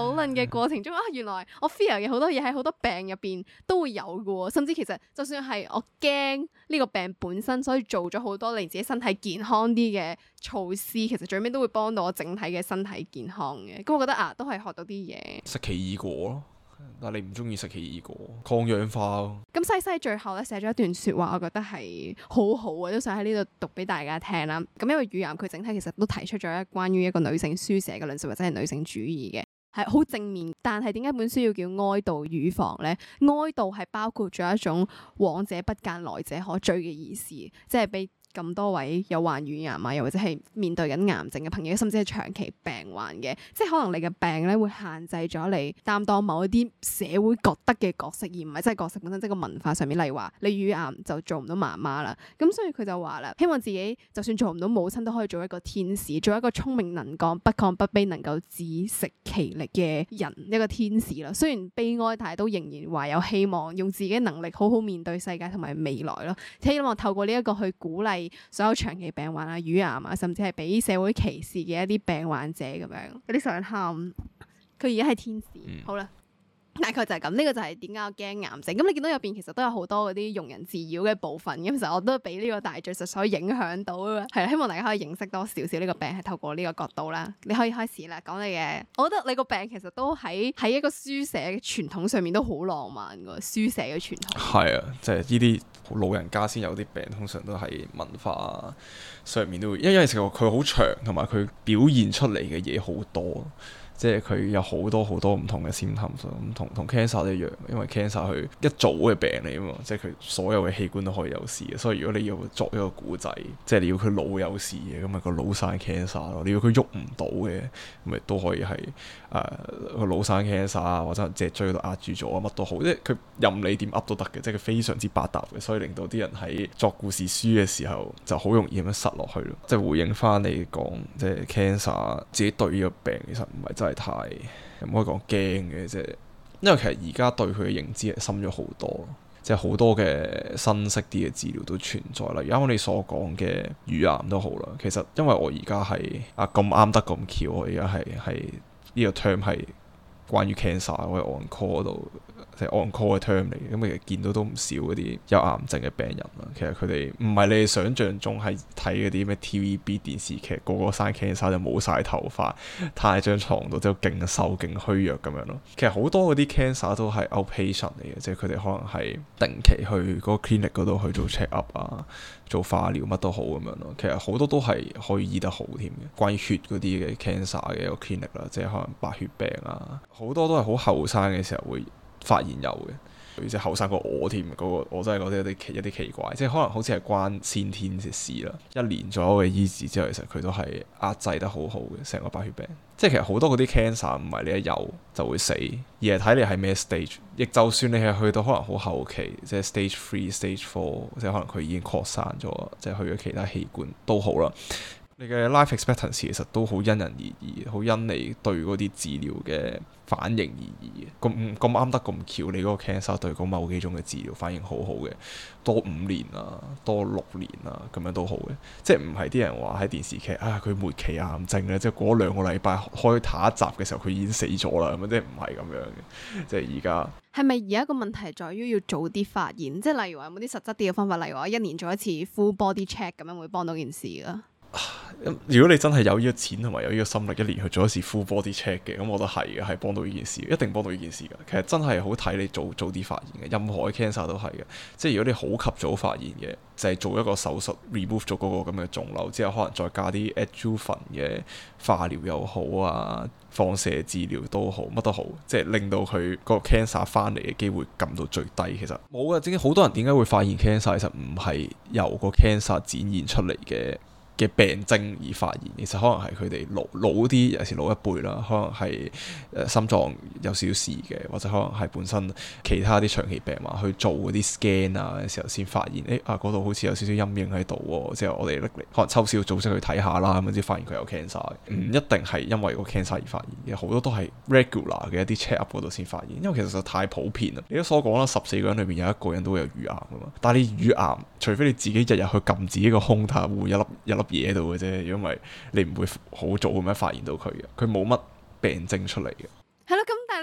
嘅過程中啊，原來我 fear 嘅好多嘢喺好多病入邊都會有嘅喎，甚至其實就算係我驚呢個病本身，所以做咗好多令自己身體健康啲嘅措施，其實最尾都會幫到我整體嘅身體健康嘅。咁我覺得啊，都係學到啲嘢。 食奇異果咯。但係你唔中意食奇異果，抗氧化咯。咁西西最後咧寫咗一段説話，我覺得係好好啊，都想喺呢度讀俾大家聽啦。咁因為乳癌佢整體其實都提出咗一關於一個女性書寫嘅論述或者係女性主義嘅，係好正面。但係點解本書要叫哀悼乳房咧？哀悼係包括咗一種往者不諫，來者可追嘅意思，即係俾咁多位有患乳癌啊，又或者係面對緊癌症嘅朋友，甚至係長期病患嘅，即係可能你嘅病咧會限制咗你擔當某一啲社會覺得嘅角色，而唔係真係角色本身，即係個文化上面。例如話你乳癌就做唔到媽媽啦，咁所以佢就話啦，希望自己就算做唔到母親，都可以做一個天使，做一個聰明能幹、不亢不卑、能夠自食其力嘅人，一個天使啦。雖然悲哀，但係都仍然話有希望，用自己能力好好面對世界同埋未來咯。希望透過呢一個去鼓勵所有長期病患啊、乳癌啊，甚至係俾社會歧視嘅一啲病患者咁樣，有啲想喊。佢而家係天使，嗯、好啦，大概就係咁。呢、這個就係點解我驚癌症。咁你見到入邊其實都有好多嗰啲庸人自擾嘅部分。咁其實我都俾呢個大敘述所影響到啊。係啦，希望大家可以認識多少少呢個病，係透過呢個角度啦。你可以開始啦，講你嘅。我覺得你個病其實都喺喺一個書寫嘅傳統上面都好浪漫㗎。書寫嘅傳統係啊，即係呢啲老人家先有啲病，通常都係文化上面都會，因為因為其實佢好長，同埋佢表現出嚟嘅嘢好多。即係佢有好多好多唔同嘅 symptoms，咁同同 cancer 一樣，因為 cancer 佢一早嘅病嚟啊嘛，即係佢所有嘅器官都可以有事嘅，所以如果你要作一個古仔，即係你要佢腦有事嘅，咁咪個腦生 cancer 咯；你要佢喐唔到嘅，咪都可以係誒個腦生 cancer 啊，或者脊椎度壓住咗啊，乜都好，即係佢任你點噏都得嘅，即係佢非常之百搭嘅，所以令到啲人喺作故事書嘅時候就好容易咁樣塞落去咯。即係回應翻你講，即係 cancer 自己對呢個病其實唔係真係太唔可以講驚嘅，即係因為其實而家對佢嘅認知係深咗好多，即係好多嘅新式啲嘅治療都存在啦。例如啱啱你所講嘅乳癌都好啦，其實因為我而家係啊咁啱得咁巧，我而家係係呢個 term 係關於 cancer，我喺 on call 度。即係 on call 嘅 term 嚟嘅，咁其實見到都唔少嗰啲有癌症嘅病人啦。其實佢哋唔係你哋想象中係睇嗰啲咩 T V B 電視劇，個個生 cancer 就冇晒頭髮，躺喺張床度之後勁瘦勁虛弱咁樣咯。其實好多嗰啲 cancer 都係 outpatient 嚟嘅，即係佢哋可能係定期去嗰個 clinic 嗰度去做 check up 啊，做化療乜都好咁樣咯。其實好多都係可以醫得好添嘅。關於血嗰啲嘅 cancer 嘅一個 clinic 啦，即係可能白血病啊，好多都係好後生嘅時候會發現有嘅，而且後生過我添，嗰、嗰個我真係覺得有啲奇一啲奇怪，即係可能好似係關先天嘅事啦。一年左右嘅醫治之後，其實佢都係壓制得好好嘅，成個白血病。即係其實好多嗰啲 cancer 唔係你一有就會死，而係睇你係咩 stage。亦就算你係去到可能好後期，即係 stage three、stage four，即係可能佢已經擴散咗，即係去咗其他器官都好啦。你嘅 life expectancy 其實都好因人而異，好因你對嗰啲治療嘅反應而異嘅。咁咁啱得咁巧，你嗰個 cancer 對嗰某幾種嘅治療反應好好嘅，多五年啊，多六年啊，咁樣都好嘅。即係唔係啲人話喺電視劇啊，佢末期癌症咧，即係過兩個禮拜開下一集嘅時候，佢已經死咗啦，咁樣即係唔係咁樣嘅。即係而家係咪而家個問題在於要早啲發現？即係例如話有冇啲實質啲嘅方法，例如話一年做一次 full body check 咁樣會幫到件事㗎？如果你真係有呢個錢同埋有呢個心力，一年去做一次 full body check 嘅，咁我覺得係嘅，係幫到呢件事，一定幫到呢件事㗎。其實真係好睇你早早啲發現嘅，任何嘅 cancer 都係嘅。即係如果你好及早發現嘅，就係、是、做一個手術 remove 咗嗰個咁嘅腫瘤之後，可能再加啲 adjuvant 嘅化療又好啊，放射治療都好，乜都好，即係令到佢個 cancer 翻嚟嘅機會撳到最低。其實冇嘅，正經好多人點解會發現 cancer，其實唔係由個 cancer 展現出嚟嘅嘅病徵而發現，其實可能係佢哋老老啲，尤其是老一輩啦，可能係誒、呃、心臟有少少事嘅，或者可能係本身其他啲長期病患去做嗰啲 scan 啊嘅時候先發現，誒啊嗰度好似有少少陰影喺度喎，之後我哋拎嚟可能抽絲組織去睇下啦，咁先發現佢有 cancer 嘅，唔一定係因為個 cancer 而發現嘅，好多都係 regular 嘅一啲 check up 嗰度先發現，因為其實實太普遍啦。你都所講啦，十四個人裏面有一個人都會有乳癌噶嘛，但係你乳癌，除非你自己日日去撳自己個胸睇下會唔會一粒一粒嘢喺度嘅啫，如果唔係你唔會好早咁樣發現到佢嘅，佢冇乜病徵出嚟嘅。 係咯，咁但係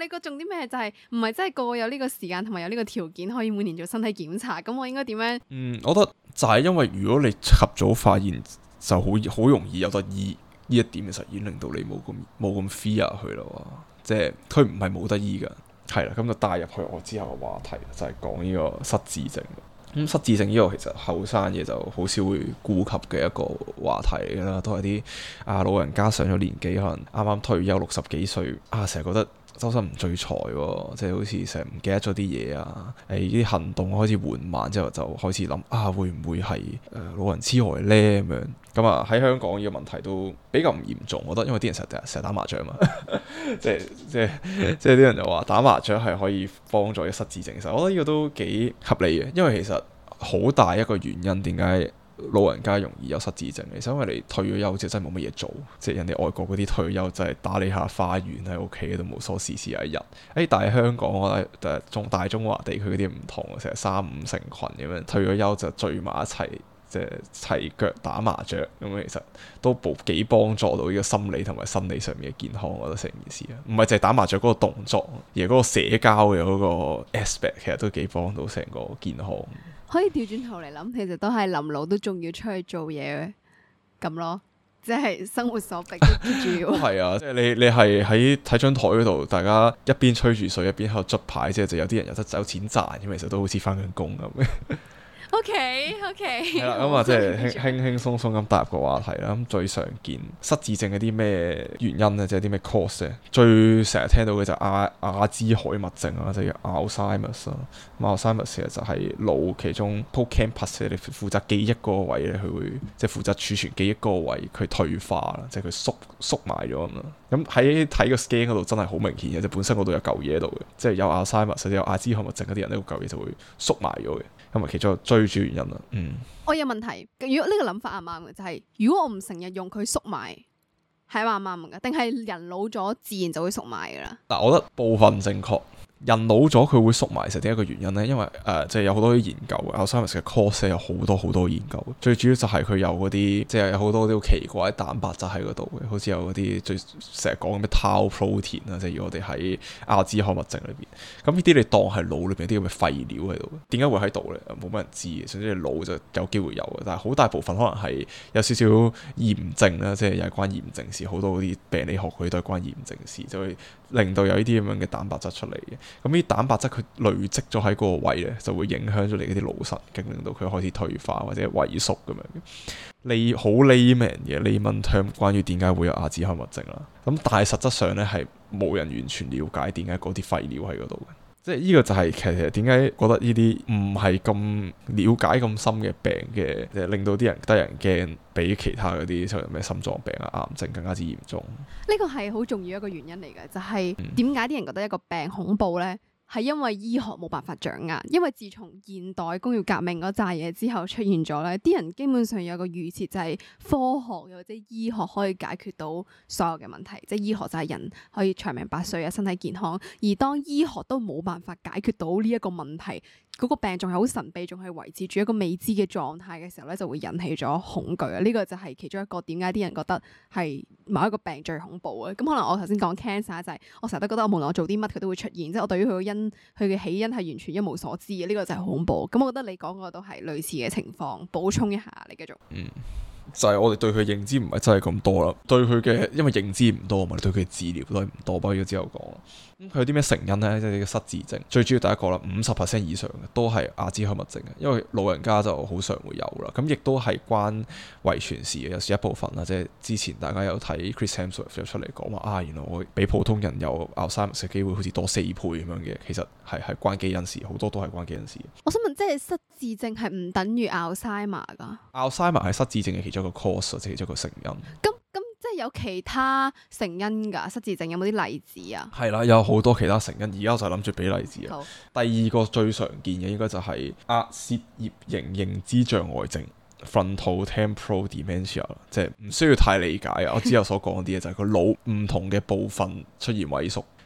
你個重點咩就係唔係真係個個有呢個時間同埋有呢個條件可以每年做身體檢查？咁我應該點樣？嗯， 我覺得就係因為如果你及早發現，就好好容易有得醫。呢一點其實已經令到你冇咁冇咁 fear 佢咯，即係佢唔係冇得醫噶。係啦，咁就帶入去我之後嘅話題，就係講呢個失智症。咁、嗯、失智症呢個其實後生嘢就好少會顧及嘅一個話題啦，都係啲啊老人家上咗年紀，可能啱啱退休六十幾歲啊，成日覺得周身唔聚財喎，即係好似成日唔記得咗啲嘢啊，誒啲行動開始緩慢之後，就開始諗啊會唔會係誒、呃、老人痴呆咧咁樣？咁啊喺香港呢個問題都比較唔嚴重，我覺得，因為啲人成日成日打麻將嘛，即係即係即係啲人就話打麻將係可以幫助一失智症。其實我覺得呢個都幾合理嘅，因為其實好大一個原因點解老人家容易有失智症，其實因為你退咗休之後真係冇乜嘢做，即係人哋外國嗰啲退休就係打理下花園喺屋企都無所事事有一日。誒，但係香港我覺得中大中華地區嗰啲唔同，成日三五成群咁樣退咗休就聚埋一齊。即係齊腳打麻雀咁，其實都補幾幫助到呢個心理同埋生理上面嘅健康。我覺得成件事啊，唔係淨係打麻雀嗰個動作，而係嗰個社交嘅嗰個 aspect，其實都幾幫到成個健康。 可以調轉頭嚟諗，其實都係臨老都仲要出去做嘢咁咯，即係生活所逼住要。係啊，即係你你係喺睇張台嗰度，大家一邊吹住水一邊喺度捽牌，即係就有啲人有得有錢賺，咁其實都好似翻緊工咁。O K O K 係啦，咁啊即係輕輕輕鬆鬆咁踏入個話題啦。咁最常見失智症嘅啲咩原因咧，即係啲咩 cause 咧？最成日聽到嘅就係阿阿茲海默症啊，即係 Alzheimer's 啊。Alzheimer's 其實就係腦其中 hippocampus 你負責記憶嗰個位咧，佢會即係負責儲存記憶嗰個位，佢退化啦，即係佢縮縮埋咗咁啦。咁喺睇個 scan 嗰度真係好明顯嘅，即係本身嗰度有嚿嘢喺度嘅，即係有 Alzheimer's 或者有阿茲海默症嗰啲人呢個嚿嘢就會縮埋咗嘅。咁啊，其中最主要原因啦。嗯，我有問題。如果呢個諗法啱唔啱嘅，就係、是、如果我唔成日用佢縮埋，係啱唔啱嘅？定係人老咗自然就會縮埋噶啦？嗱，我覺得部分正確。人老咗佢會縮埋，實點一個原因呢？因為誒，即、呃、係、就是、有好多啲研究，Alzheimer's 嘅 cause 有好多好多研究。最主要就係佢有嗰啲，即、就、係、是、有好多啲好奇怪嘅蛋白質喺嗰度嘅，好似有嗰啲最成日講嘅咩 tau protein 啊，即係我哋喺阿茲海默症裏邊。咁呢啲你當係腦裏邊啲咁嘅廢料喺度，點解會喺度呢？冇乜人知嘅，總之你腦就有機會有嘅，但係好大部分可能係有少少炎症啦，即係又係關炎症事，好多嗰啲病理學佢都係關炎症事，就會令到有呢啲咁樣嘅蛋白質出嚟嘅。咁呢啲蛋白質佢累積咗喺嗰個位咧，就會影響咗你嗰啲腦神經，令到佢開始退化或者萎縮咁樣。你好 layman 嘅 layman term 關於點解會有阿茲海默症啦。咁但係實質上咧係冇人完全了解點解嗰啲廢料喺嗰度嘅。即係呢個就係其實點解覺得呢啲唔係咁了解咁深嘅病嘅，即係令到啲人得人驚，比其他嗰啲例如咩心臟病啊、癌症更加之嚴重。呢個係好重要一個原因嚟嘅，就係點解啲人覺得一個病恐怖咧？係因為醫學冇辦法掌握，因為自從現代工業革命嗰扎嘢之後出現咗咧，啲人基本上有個預設就係科學或者醫學可以解決到所有嘅問題，即係醫學就係人可以長命百歲啊，身體健康。而當醫學都冇辦法解決到呢一個問題，嗰個病仲係好神秘，仲係維持住一個未知嘅狀態嘅時候咧，就會引起咗恐懼啊！呢個就係其中一個點解啲人覺得係某一個病最恐怖嘅。咁可能我頭先講 cancer 就係我成日都覺得我無論我做啲乜佢都會出現，即係我對於佢個因佢嘅起因係完全一無所知嘅。呢個就係恐怖。咁我覺得你講個都係類似嘅情況。補充一下，你繼續。嗯。就係我哋對佢認知唔係真係咁多啦，對佢嘅因為認知唔多嘛，對佢嘅治療都係唔多，不過之後講啦。咁佢有啲咩成因呢？即係呢個失智症，最主要第一個啦，五十 percent 以上嘅都係阿茲海默症嘅，因為老人家就好常會有啦。咁亦都係關遺傳事嘅，有時一部分啦。即係之前大家有睇 Chris Hemsworth 有出嚟講話啊，原來我比普通人有 Alzheimer's 嘅機會好似多四倍咁樣嘅，其實係係關基因事，好多都係關基因事。我想問，即係失智症係唔等於 Alzheimer 噶 ？Alzheimer 係失智症嘅其中一個 cause，即係其中一個成因。咁咁即係有其他成因㗎？失智症有冇啲例子啊？係啦，有好多其他成因。而家我就諗住俾例子啊。好，第二個最常見嘅應該就係壓涉葉型認知障礙症 （Frontotemporal Dementia），即係唔需要太理解啊。我之後所講啲嘢就係個腦唔同嘅部分出現萎縮。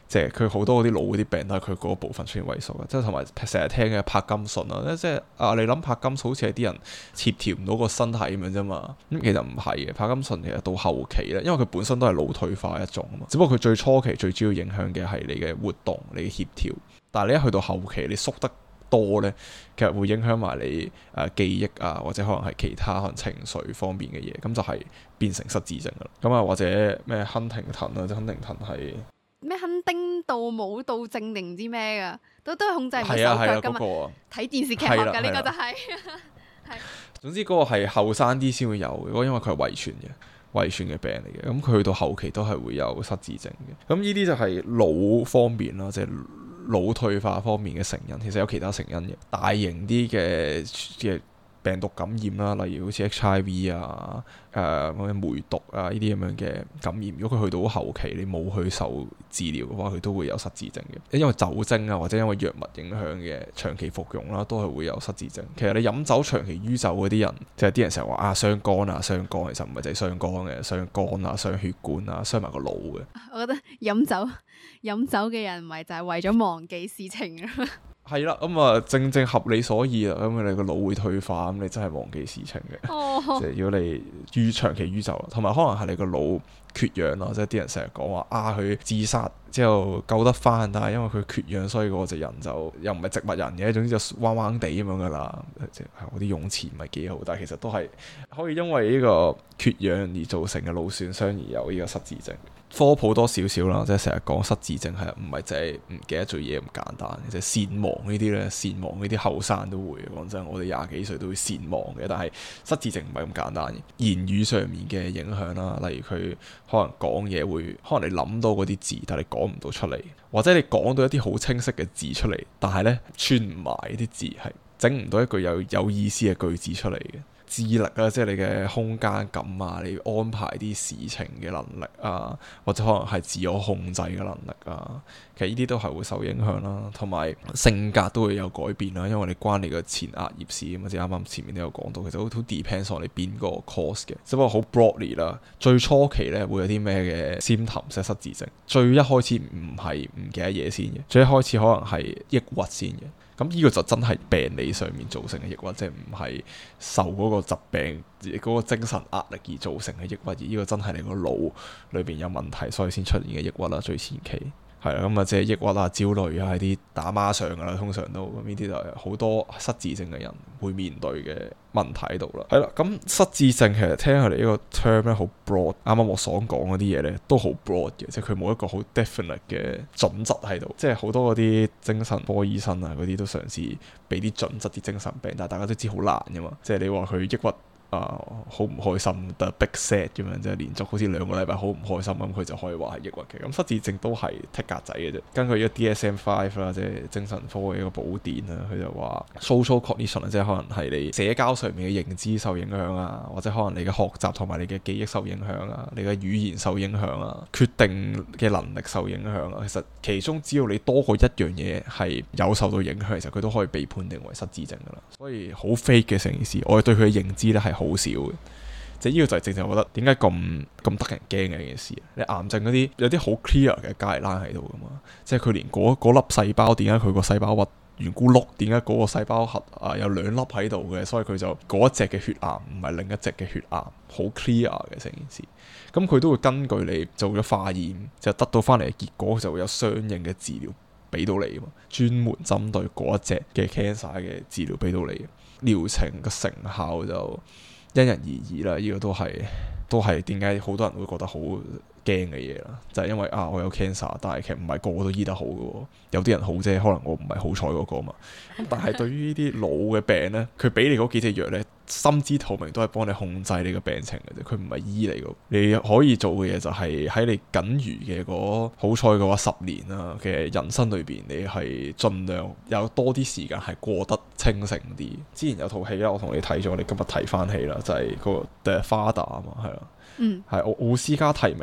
即係佢好多嗰啲腦嗰啲病都係佢嗰部分出現萎縮嘅，即係同埋成日聽嘅柏金遜啊，即係啊你諗柏金遜好似係啲人協調唔到個身體咁樣啫嘛，咁其實唔係嘅，柏金遜其實到後期咧，因為佢本身都係腦退化一種啊嘛，只不過佢最初期最主要影響嘅係你嘅活動、你嘅協調，但係你一去到後期你縮得多咧，其實會影響埋你誒、呃、記憶啊，或者可能係其他可能情緒方面嘅嘢，咁就係變成失智症噶啦。咁啊或者咩亨廷頓啊，即亨廷頓係咩亨丁道舞蹈症定唔知咩噶，都都係控制唔到手腳噶嘛。睇電視劇學噶呢個就係、是，係。 總之嗰個係後生啲先會有嘅，因為佢係遺傳嘅。遺傳嘅病嚟嘅，咁佢去到後期都係會有失智症嘅。咁呢啲就係腦方面啦，即係腦退化方面嘅成因。其實有其他成因嘅，大型啲嘅嘅病毒感染啦，例如好似 H I V 啊、誒、呃、梅毒啊呢啲咁樣嘅感染。如果佢去到後期，你冇去受治療嘅話，佢都會有失智症嘅。因為酒精啊，或者因為藥物影響嘅長期服用啦，都係會有失智症。其實你飲酒長期酗酒嗰啲人，即係啲人成日話啊傷肝啊傷肝，其實唔係淨係傷肝嘅，傷肝啊、傷血管啊、傷埋個腦嘅。 我覺得飲酒飲酒嘅人唔係就係為咗忘記事情啊。 係啦，咁啊正正合理所以啦，咁你個腦會退化，咁你真係忘記事情嘅。哦、即係如果你酗長期酗酒，同埋可能係你個腦缺氧咯，即係啲人成日講話啊，佢自殺之後救得翻，但係因為佢缺氧，所以嗰隻人就又唔係植物人嘅，總之就彎彎地咁樣噶啦。即係我啲用詞唔係幾好，但係其實都係可以因為呢個缺氧而造成嘅腦損傷而有呢個失智症。科普多少少啦，即係成日講失智症係唔係淨係唔記得做嘢咁簡單，即係健忘呢啲咧，健忘呢啲後生都會。講真，我哋廿幾歲都會健忘嘅，但係失智症唔係咁簡單嘅。言語上面嘅影響啦，例如佢可能講嘢會，可能你諗到嗰啲字，但係你講唔到出嚟，或者你講到一啲好清晰嘅字出嚟，但係咧串唔埋啲字，係整唔到一句有有意思嘅句子出嚟嘅。智力啊，即係你嘅空間感啊，你要安排啲事情嘅能力啊，或者可能係自我控制嘅能力啊，其實呢啲都係會受影響啦。同埋性格都會有改變啦，因為你關你個前額葉事咁啊，即係啱啱前面都有講到，其實好好 depends on 你邊個 course 嘅，只不過好 broadly 啦。最初期咧會有啲咩嘅 symptoms 失智症，最一開始唔係唔記得嘢先嘅，最一開始可能係抑鬱先嘅。咁呢個就真係病理上面造成嘅抑鬱，即係唔係受嗰個疾病嗰、嗰個精神壓力而造成嘅抑鬱，而呢個真係你個腦裏邊有問題，所以先出現嘅抑鬱啦。最前期係啦，咁啊即係抑鬱啊、焦慮啊，係啲打孖上噶啦，通常都咁呢啲就係好多失智症嘅人會面對嘅問題喺度啦。係啦，咁失智症其實聽佢哋呢個 term 咧好 broad，啱啱我所講嗰啲嘢咧都好 broad 嘅，即係佢冇一個好 definite 嘅準則喺度。即係好多嗰啲精神科醫生啊嗰啲都嘗試俾啲準則啲精神病，但係大家都知好難噶嘛。即係你話佢抑鬱。啊，好唔開心，the big sad 咁樣，即係連續好似兩個禮拜好唔開心咁，佢就可以話係抑鬱嘅。咁失智症都係剔格仔嘅啫。根據呢個 D S M 五 啦，即係精神科嘅一個寶典啦，佢就話 social cognition 即係可能係你社交上面嘅認知受影響啊，或者可能你嘅學習同埋你嘅記憶受影響啊，你嘅語言受影響啊，決定嘅能力受影響啊。其實其中只要你多過一樣嘢係有受到影響，其實佢都可以被判定為失智症噶啦。所以好 fake 嘅成件事，我哋對佢嘅認知咧係好少嘅，即係呢個就係正正我覺得點解咁咁得人驚嘅一件事。你癌症嗰啲有啲好 clear 嘅 guideline喺度噶嘛，即係佢連嗰嗰粒細胞點解佢個細胞核圓咕碌，點解嗰個細胞核啊有兩粒喺度嘅，所以佢就嗰一隻嘅血癌唔係另一隻嘅血癌，好 clear 嘅成件事。咁佢都會根據你做咗化驗，就得到翻嚟嘅結果，就會有相應嘅治療俾到你啊嘛，專門針對嗰一隻嘅 cancer 嘅治療俾到你，療程嘅成效就因人而異啦，呢、這個都係都係點解好多人會覺得好驚嘅嘢啦，就係、是、因為啊我有 cancer， 但係其實唔係個個都醫得好嘅，有啲人好啫，可能我唔係好彩嗰個嘛。咁但係對於呢啲腦嘅病呢，佢俾你嗰幾隻藥呢，心知肚明都係幫你控制你個病情嘅啫，佢唔係醫你嘅。你可以做嘅嘢就係喺你僅餘嘅嗰好彩嘅話十年啊嘅人生裏邊，你係盡量有多啲時間係過得清醒啲。之前有套戲啦，我同你睇咗，你今日睇翻戲啦，就係、是、嗰個 The Father 啊嘛，係啦，嗯，係奧奧斯卡提名嘅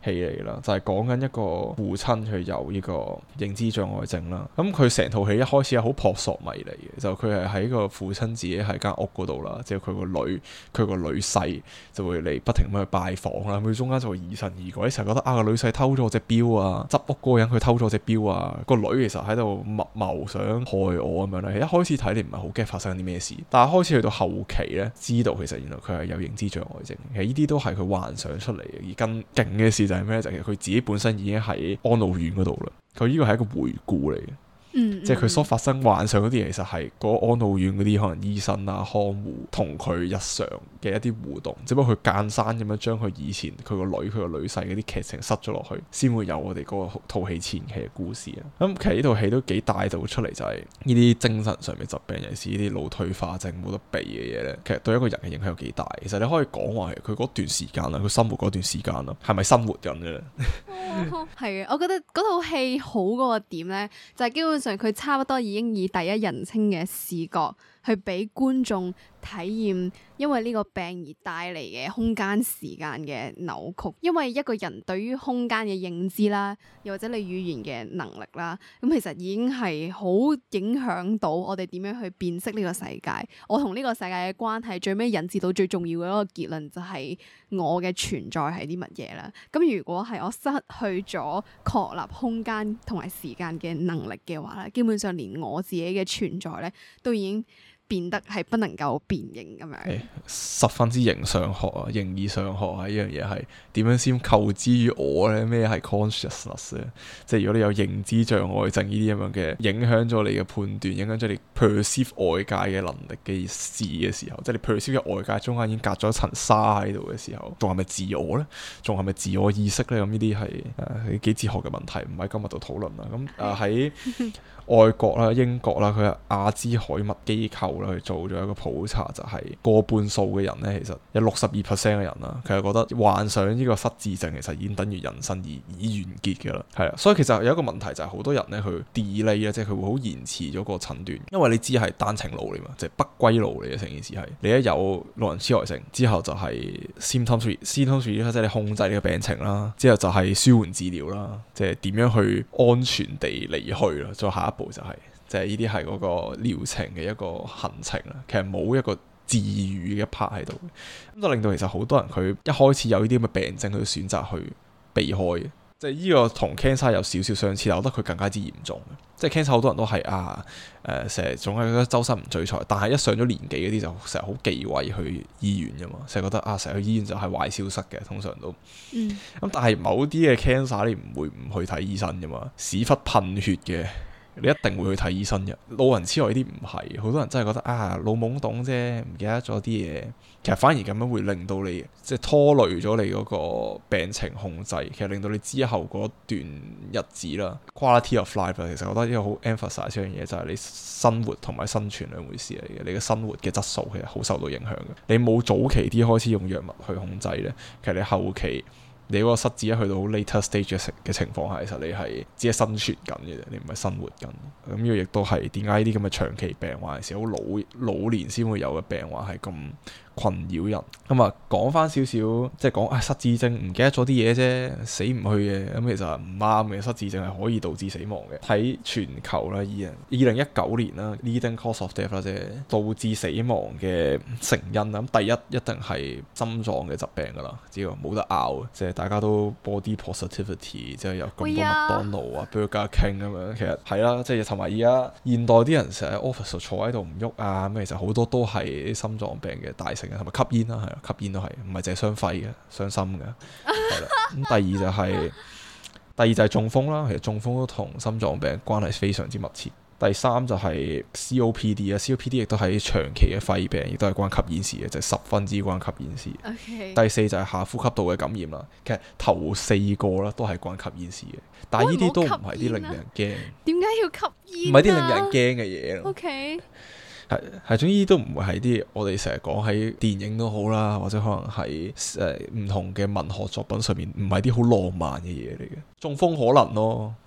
戲嚟啦，就係講緊一個父親佢有呢個認知障礙症啦。咁佢成套戲一開始係好撲朔迷離嘅，就佢係喺個父親自己喺間屋嗰度啦，即係佢個女佢個女婿就會嚟不停咁去拜訪啦。佢中間就會疑神疑鬼，成日覺得啊個女婿偷咗我隻錶啊，執屋嗰個人佢偷咗隻錶啊，個女其實喺度密謀想害我咁樣咧。一開始睇你唔係好驚發生啲咩事，但係開始去到後期咧，知道其實原來佢係有認知障礙症。其實呢啲都係佢幻想出嚟嘅，而更勁嘅事就係咩？就係佢自己本身已經喺安老院嗰度啦。佢呢個係一個回顧嚟嘅。嗯、即係佢所發生幻想嗰啲嘢，其實係嗰個安老院嗰啲可能醫生啊、看護同佢日常嘅一啲互動，只不過佢間山咁樣將佢以前佢個女、佢個女婿嗰啲劇情塞咗落去，先會有我哋嗰個套戲前期嘅故事啊。咁、嗯、其實呢套戲都幾帶到出嚟，就係呢啲精神上面疾病，尤其是呢啲腦退化症冇得避嘅嘢咧，其實對一個人嘅影響有幾大。其實你可以講話係佢嗰段時間啦，佢生活嗰段時間啦，係咪生活緊嘅咧？ 係啊，我覺得嗰套戲好嗰個點咧，就係、是、基本上佢差不多已經以第一人稱嘅視覺去俾觀眾體驗，因為呢個病而帶嚟嘅空間時間嘅扭曲。因為一個人對於空間嘅認知啦，又或者你語言嘅能力啦，咁其實已經係好影響到我哋點樣去辨識呢個世界。我同呢個世界嘅關係，最尾引致到最重要嘅一個結論就係我嘅存在係啲乜嘢啦。咁如果係我失去咗確立空間同埋時間嘅能力嘅話咧，基本上連我自己嘅存在咧都已經變得係不能夠辨認咁樣、欸， 十分之形上學啊，形而上學啊，呢樣嘢係點樣先構之於我咧？咩係 consciousness 咧？即係如果你有認知障礙症呢啲咁樣嘅，影響咗你嘅判斷，影響咗你 perceive 外界嘅能力嘅事嘅時候，即係你 perceive 嘅外界中間已經隔咗一層紗喺度嘅時候，仲係咪自我咧？仲係咪自我意識咧？咁呢啲係誒幾哲學嘅問題，唔喺今日度討論啦。咁誒喺外國啦、英國啦，佢係阿茲海默機構啦，去做咗一個普查，就係、是、過半數嘅人咧，其實有六十二 percent 嘅人啦，佢係覺得患上呢個失智症，其實已經等於人生已已完結嘅啦。係啊，所以其實有一個問題就係好多人咧，佢 delay 咧，即係佢會好延遲咗個診斷，因為你知係單程路嚟嘛，即係不歸路嚟嘅成件事係。你一有老人痴呆症之後就係 symptoms，symptoms 即係你控制呢個病情啦，之後就係舒緩治療啦，即係點樣去安全地離去啦，再下一步就係、是，即係呢啲係嗰個療程嘅一個行程啦。其實冇一個治癒嘅一 part 喺度，咁就令到其實好多人佢一開始有呢啲咁嘅病症，佢都選擇去避開嘅。即係呢個同 cancer 有少少相似，但我覺得佢更加之嚴重嘅。即係 cancer 好多人都係啊誒，成日總係覺得周身唔聚財，但係一上咗年紀嗰啲就成日好忌諱去醫院㗎嘛，成日覺得啊成日去醫院就係壞消息嘅，通常都。嗯。咁但係某啲嘅 cancer 你唔會唔去睇醫生㗎嘛，屎忽噴血嘅。你一定會去睇醫生嘅。老人痴呆呢啲唔係，好多人真係覺得啊老懵懂啫，唔記得咗啲嘢。其實反而咁樣會令到你即係拖累咗你嗰個病情控制，其實令到你之後嗰段日子啦 quality of life 啦，其實我覺得呢個好 emphasize 一樣嘢就係你生活同埋生存兩回事嚟嘅。你嘅生活嘅質素其實好受到影響嘅。你冇早期啲開始用藥物去控制咧，其實你後期你嗰個失智一去到好 later stage 嘅情況下，其實你係只係生存緊嘅啫，你唔係生活緊。咁呢個亦都係點解呢啲咁嘅長期病患，係好老老年先會有嘅病患係咁困擾人。咁啊，講翻少少，即係講啊失智症唔記得咗啲嘢啫，死唔去嘅。咁其實唔啱嘅，失智症係可以導致死亡嘅。喺全球啦，二零二零一九年啦 leading cause of death 啦，即係導致死亡嘅成因啦。咁第一一定係心臟嘅疾病噶啦，只要冇得拗，即係大家都 body positivity，即係有咁多麥當勞啊 Burger King 咁樣。其實係啦，即係同埋而家現代啲人成日喺 office 坐喺度唔喐啊，咁其實好多都係啲心臟病嘅大成因，同埋吸煙啦，係啊，吸煙都係，唔係淨係傷肺嘅，傷心嘅，係啦。咁第二就係、是、第二就係中風啦，其實中風都同心臟病關係非常之密切。第三就係 C O P D 啊 ，C O P D 亦都係長期嘅肺病，亦都係關吸煙事嘅，就係、是、十分之關吸煙事。Okay. 第四就係下呼吸道嘅感染啦，其實頭四個啦都係關吸煙事嘅，但係呢啲都唔係啲令人驚。點解要吸煙？ 唔係啲令人驚嘅嘢咯。 OK。 係係，總之都唔會係啲我哋成日講喺電影都好啦，或者可能係誒唔同嘅文學作品上面，唔係啲好浪漫嘅嘢嚟嘅。中風可能咯，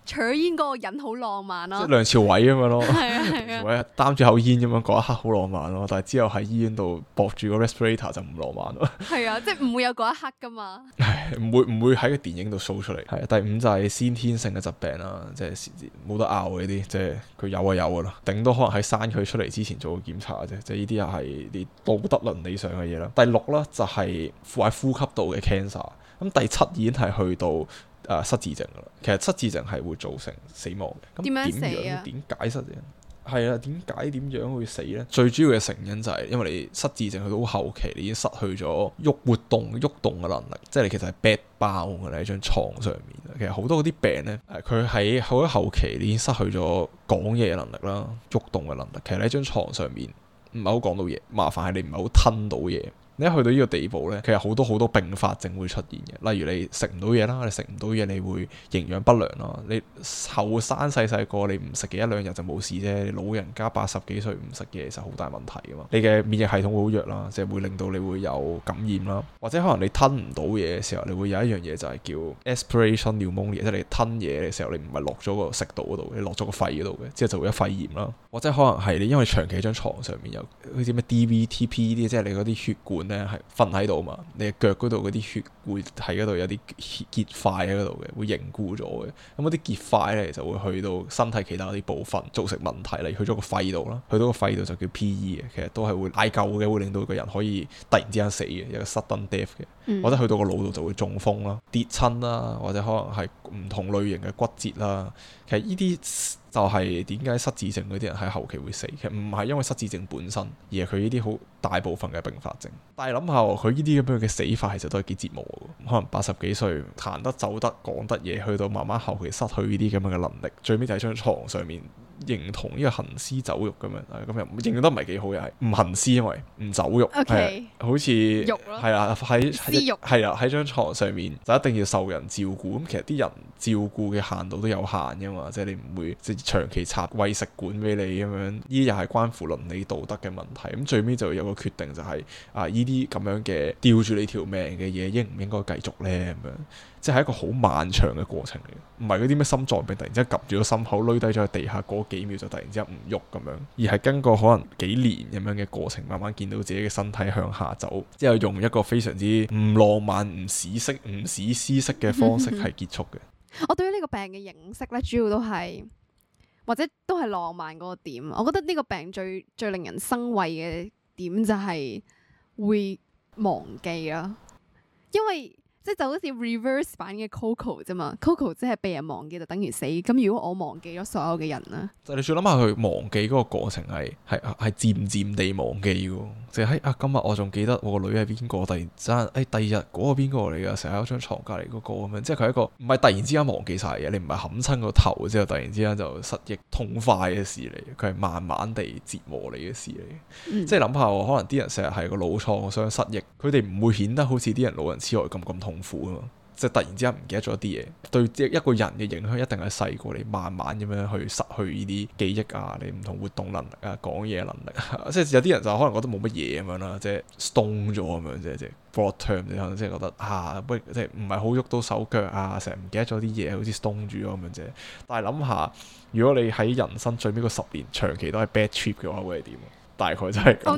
取煙嗰個人好浪漫咯， 即係梁朝偉咁樣咯， 係啊係啊， 擔住口煙咁樣嗰一刻好浪漫咯，但係之後喺醫院度駁住個 respirator 就唔浪漫咯。係啊，即係唔會有嗰一刻噶嘛。 唔會唔會喺個電影度 show 出嚟。係第五就係先天性嘅疾病啦，即係冇得拗嘅啲，即係佢有啊有噶啦，頂多可能喺生佢出嚟之前做個檢查啫，即係呢啲又係啲道德倫理上嘅嘢啦。第六啦就係喺呼吸道嘅 cancer，咁第七已經係去到誒、呃、失智症噶啦。其實失智症係會造成死亡嘅。咁點樣死啊？點解失智症？係啊，點解點樣會死呢？最主要嘅成因就係因為你失智症去到後期，你已經失去咗喐活動喐動嘅能力，即係你其實係 bed bound 嘅喺張床上面。其實好多嗰啲病呢，佢喺好多後期你已經失去咗講嘢嘅能力啦，喐動嘅能力。其實喺張床上面唔係好講到嘢，麻煩係你唔係好吞到嘢。你一去到呢個地步呢，其實好多好多併發症會出現嘅，例如你食唔到嘢啦，你食唔到嘢你會營養不良啦。你後生細細個你唔食嘅一兩日就冇事啫，你老人家八十幾歲唔食嘢就好大問題噶嘛。你嘅免疫系統會好弱啦，即係會令到你會有感染啦，或者可能你吞唔到嘢嘅時候，你會有一樣嘢就係叫 aspiration pneumonia，即係你吞嘢嘅時候你唔係落咗個食道嗰度，你落咗個肺嗰度嘅，之後就會有肺炎啦。或者可能係你因為長期喺張床上面有好似咩 D V T P 啲，即係你嗰啲血管咧係瞓喺度嘛，你嘅腳嗰度嗰啲血會喺嗰度有啲結塊喺嗰度嘅，會凝固咗嘅。咁嗰啲結塊咧就會去到身體其他啲部分造成問題，例如去咗個肺度啦，去到個肺度就叫 P E 嘅，其實都係會嗌救嘅，會令到個人可以突然之間死嘅，有個 sudden death 嘅。嗯、或者去到個腦度就會中風啦、跌親啦，或者可能係唔同類型嘅骨折啦。其實呢啲就係點解失智症嗰啲人喺後期會死，其實唔係因為失智症本身，而係佢呢啲好大部分嘅併發症。但係諗下佢呢啲咁樣嘅死法，其實都係幾折磨嘅。可能八十幾歲行得走得講得嘢，去到慢慢後期失去呢啲咁樣嘅能力，最尾就喺張床上面認同呢個行屍走肉咁樣，咁又認得唔係幾好，又係唔行屍，因為唔走肉，係、okay. 好似係啦，喺係啊喺張床上面就一定要受人照顧。咁其實啲人照顧嘅限度都有限噶嘛，即係你唔會即係長期插餵食管俾你咁樣，呢啲又係關乎倫理道德嘅問題。咁最尾就有個決定就係、是、啊呢啲咁樣嘅吊住你條命嘅嘢，應唔應該繼續咧？咁樣即係一個好漫長嘅過程嚟嘅，唔係嗰啲咩心臟病突然之間夾住個心口，攣低咗喺地下嗰幾秒就突然之間唔喐咁樣，而係經過可能幾年咁樣嘅過程，慢慢見到自己嘅身體向下走，之後用一個非常之唔浪漫、唔史式、唔史詩式嘅方式係結束嘅。 我對於呢個病嘅認識咧，主要都係或者都係浪漫嗰個點。我覺得呢個病最最令人生畏嘅點就係會忘記啦，因為即係就好似 reverse 版嘅 Coco 啫嘛 ，Coco 即係被人忘記就等於死。咁如果我忘記咗所有嘅人咧，就你再諗下佢忘記嗰個過程係係係漸漸地忘記嘅，即係啊今日我仲記得我個女係邊個，突然之間誒第二日嗰個邊個嚟㗎，成日喺張床隔離嗰個咁樣，即係佢係一個唔係突然之間忘記晒嘅，你唔係冚親個頭之後突然之間就失憶痛快嘅事嚟，佢係慢慢地折磨你嘅事嚟。嗯、即係諗下可能啲人成日係個腦創傷失憶，佢哋唔會顯得好似啲人老人痴呆咁咁痛苦啊嘛，即係突然之間唔記得咗啲嘢，對一個人嘅影響一定係細過你慢慢咁樣去失去呢啲記憶啊，你唔同活動能力啊，講嘢能力啊，即係有啲人就可能覺得冇乜嘢咁樣啦，即係 stone 咗咁樣啫，即係 broad term 你可能即係覺得啊，不即係唔係好喐到手腳啊，成日唔記得咗啲嘢，好似 stone 住咗咁樣啫。但係諗下，如果你喺人生最尾嗰十年長期都係 bad trip 嘅話，會係點？大概就係咁。 Oh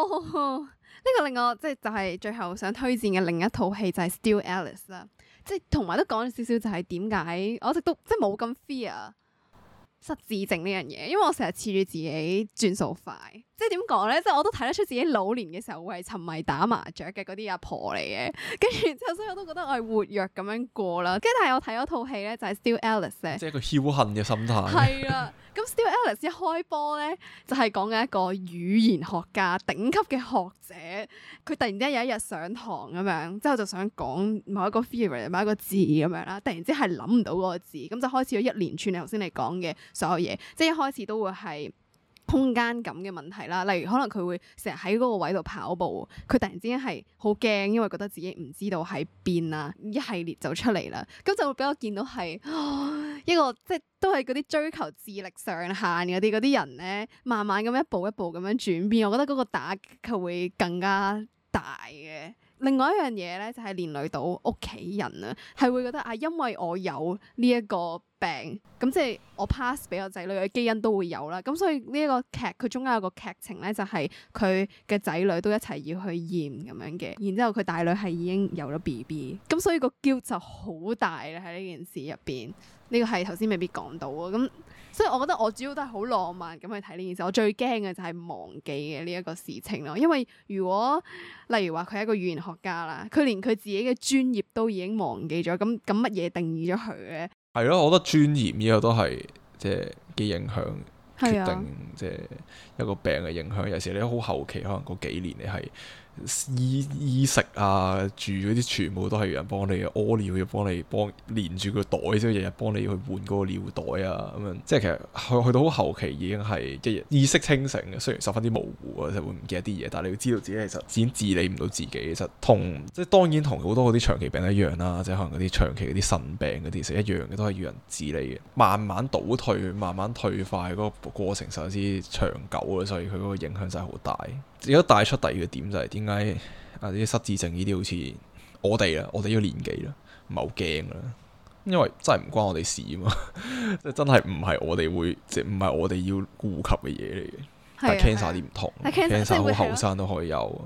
no！呢個令我即係就係最後想推薦嘅另一套戲就係 Still Alice 啦，即係同埋都講咗少少就係點解我一直都即係冇咁 fear 失智症呢樣嘢，因為我成日恃住自己轉數快，即係點講咧，即係我都睇得出自己老年嘅時候會係沉迷打麻雀嘅嗰啲阿婆嚟嘅，跟住之後所以我都覺得我係活躍咁樣過啦。跟住但係我睇咗套戲咧就係 Still Alice 咧， 即係一個僥倖嘅心態。 係啦。咁 Still Alice 一開波咧，就係講緊一個語言學家、頂級嘅學者，佢突然之間有一日上堂咁樣，之後就想講某一個 theory、某一個字咁樣啦，突然之間係諗唔到嗰個字，咁就開始咗一連串你頭先你講嘅所有嘢，即係一開始都會係空間感嘅問題啦，例如可能佢會成日喺嗰個位度跑步，佢突然之間係好驚，因為覺得自己唔知道喺邊啊，一系列就出嚟啦，咁就會俾我見到係一個即係都係嗰啲追求智力上限嗰啲嗰啲人咧，慢慢咁一步一步咁樣轉變，我覺得嗰個打擊佢會更加大嘅。另外一樣嘢咧就係連累到屋企人啊，係會覺得啊，因為我有呢一個病，咁即係我 pass 俾我仔女嘅基因都會有啦。咁所以呢一個劇佢中間有個劇情咧，就係佢嘅仔女都一齊要去驗咁樣嘅，然之後佢大女係已經有咗 B B，咁所以個 guilt 就好大啦喺呢件事入邊。呢個係頭先未必講到啊，咁所以我覺得我主要都係好浪漫咁去睇呢件事。我最驚嘅就係忘記嘅呢一個事情咯，因為如果例如話佢係一個語言學家啦，佢連佢自己嘅專業都已經忘記咗，咁咁乜嘢定義咗佢咧？係咯，我覺得專業呢個都係即係幾影響決定，即係一個病嘅影響。有時你好後期，可能嗰幾年你係衣衣食啊，住嗰啲全部都係有人幫你嘅，屙尿要幫你幫連住個袋，即係日日幫你去換嗰個尿袋啊咁樣。即係其實去去到好後期已經係即係意識清醒嘅，雖然十分之模糊啊，就會唔記得啲嘢，但係你要知道自己其實已經治理唔到自己。其實同即係當然同好多嗰啲長期病一樣啦，即係可能嗰啲長期嗰啲腎病嗰啲其實一樣嘅，都係要人治理嘅。慢慢倒退、慢慢退化嗰個過程實在之長久啊，所以佢嗰個影響真係好大。而家帶出第二個點就係點解啊啲失智症呢啲好似我哋啦，我哋呢個年紀啦，唔係好驚啦，因為真係唔關我哋事啊嘛，即係真係唔係我哋會，即係唔係我哋要顧及嘅嘢嚟嘅。但係 cancer 啲唔同 ，cancer 好後生都可以有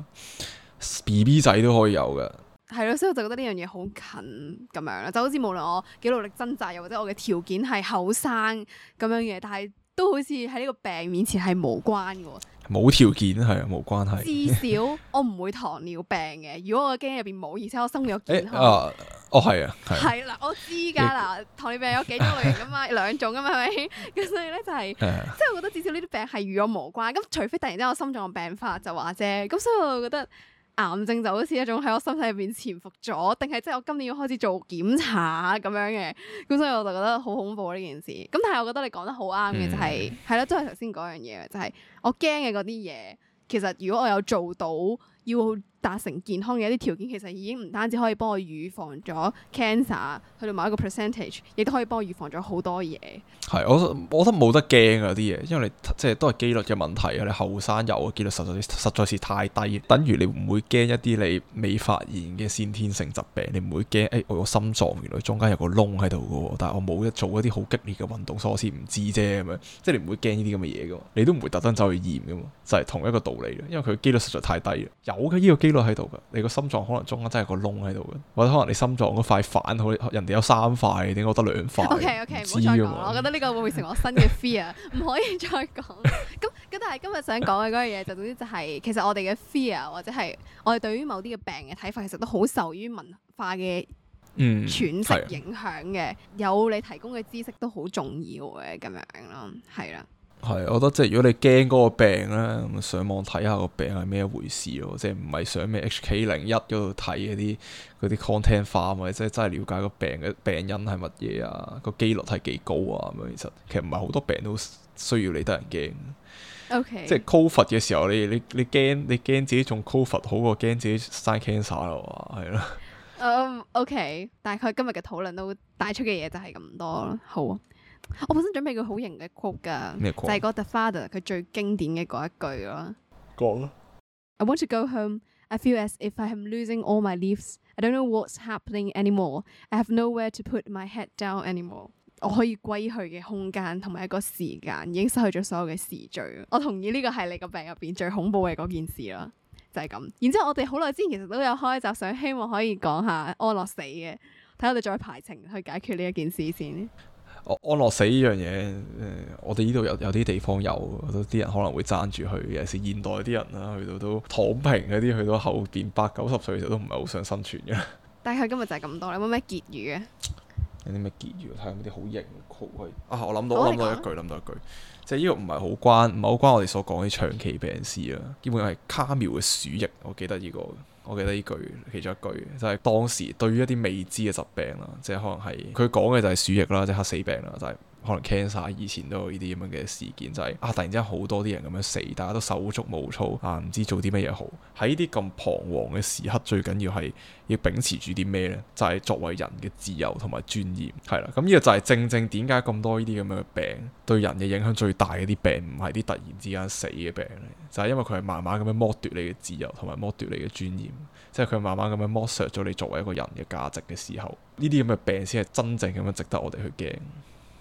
，B B 仔都可以有嘅。 係咯，所以我就覺得呢樣嘢好近咁樣啦，就好似無論我幾努力掙扎，又或者我嘅條件係後生咁樣嘅，但係都好似喺呢個病面前係無關嘅。 冇條件係啊，冇關係。 至少我唔會糖尿病嘅。如果我嘅基因入邊冇，而且我生活有健康。 欸、啊，哦係啊， 係啦，我知㗎啦。欸、糖尿病有幾種類型㗎嘛，兩種㗎嘛，係咪？咁所以咧就係、是，即係、欸、我覺得至少呢啲病係與我無關。咁除非突然之間我心臟病發就話啫。咁所以我覺得癌症就好似一種喺我身體入邊潛伏咗，定係即係我今年要開始做檢查咁樣嘅。咁所以我就覺得好恐怖呢件事。咁但係我覺得你講得好啱嘅就係、是，係啦、嗯，都係頭先嗰樣嘢，就係、是、我驚嘅嗰啲嘢。其實如果我有做到要達成健康嘅一啲條件，其實已經唔單止可以幫我預防咗 cancer 去到某一個 percentage， 亦都可以幫我預防咗好多嘢。係， 我我覺得冇得驚啊啲嘢，因為你即係都係機率嘅問題啊！你後生有嘅機率實在實在是太低，等於你唔會驚一啲你未發現嘅先天性疾病，你唔會驚誒我個心臟原來中間有個窿喺度嘅喎，但係我冇一做一啲好激烈嘅運動，所以我先唔知啫咁樣，即係你唔會驚呢啲咁嘅嘢嘅，你都唔會特登走去驗嘅嘛，就係、是、同一個道理，因為佢機率實在太低啦，有嘅呢個機率喺度嘅，你個心臟可能中間真係個窿喺度嘅，或者可能你心臟嗰塊反好，人哋有三塊，點解我得兩塊 ？OK OK，唔好再講啦，我覺得呢個會唔會成為我新嘅 fear，唔可以再講。咁咁，但係今日想講嘅嗰樣嘢，就總之就係、是、其實我哋嘅 fear 或者係我哋對於某啲嘅病嘅睇法，其實都好受於文化嘅詮釋影響嘅。嗯、有你提供嘅知識都好重要嘅，咁樣咯，係啦。 係，我覺得即係如果你驚嗰個病咧，咁上網睇下個病係咩一回事咯，即係唔係上咩 H K 零一嗰度睇嗰啲嗰啲 content 化，或者即係真係了解個病嘅病因係乜嘢啊，個機率係幾高啊咁樣。其實其實唔係好多病都需要你得人驚。 Okay. 即係 COVID 嘅時候，你你你驚你驚自己中 COVID 好過驚自己生 cancer 咯，係咯。 嗯、um,，OK， 大概今日嘅討論都帶出嘅嘢就係咁多咯。好啊。我本身準備個好型嘅 quote 噶，就係個 The Father 佢最經典嘅嗰一句咯。講啊 I want to go home. I feel as if I am losing all my leaves. I don't know what's happening anymore. I have nowhere to put my head down anymore. 我可以歸去嘅空間同埋一個時間已經失去咗所有嘅時序。我同意呢個係你個病入邊最恐怖嘅嗰件事啦，就係咁。然之後我哋好耐之前其實都有開集想希望可以講下安樂死嘅，睇我哋再排程去解決呢一件事先。 安樂死呢樣嘢，誒，我哋呢度有有啲地方有，啲人可能會爭住去。尤其是現代啲人啦，去到都躺平嗰啲，去到後邊八九十歲其實都唔係好想生存嘅。但係佢今日就係咁多，你有冇咩結語啊？有啲咩結語？睇下有啲好型嘅 quote 啊！我諗到，我諗到一句，諗到一句，即係呢個唔係好關，唔係好關我哋所講啲長期病史啦。基本上係卡繆嘅鼠疫，我記得呢個。我記得呢句其中一句就係、是、當時對於一啲未知嘅疾病啦，即係可能係佢講嘅就係鼠疫啦，即係黑死病啦，就係、是、可能 cancer 以前都有呢啲咁樣嘅事件，就係、是、啊突然之間好多啲人咁樣死，大家都手足無措啊，唔知做啲乜嘢好。喺呢啲咁彷徨嘅時刻，最緊要係要秉持住啲咩呢？就係、是、作為人嘅自由同埋尊嚴，係啦。咁呢個就係正正點解咁多呢啲咁樣嘅病對人嘅影響最大嘅啲病，唔係啲突然之間死嘅病嚟，就係、是、因為佢係慢慢咁樣剝奪你嘅自由同埋剝奪你嘅尊嚴。即係佢慢慢咁樣剝削咗你作為一個人嘅價值嘅時候，呢啲咁嘅病先係真正咁樣值得我哋去驚。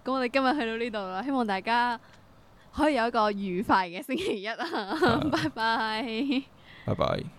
咁我哋今日去到呢度啦，希望大家可以有一個愉快嘅星期一啊！拜拜，拜拜。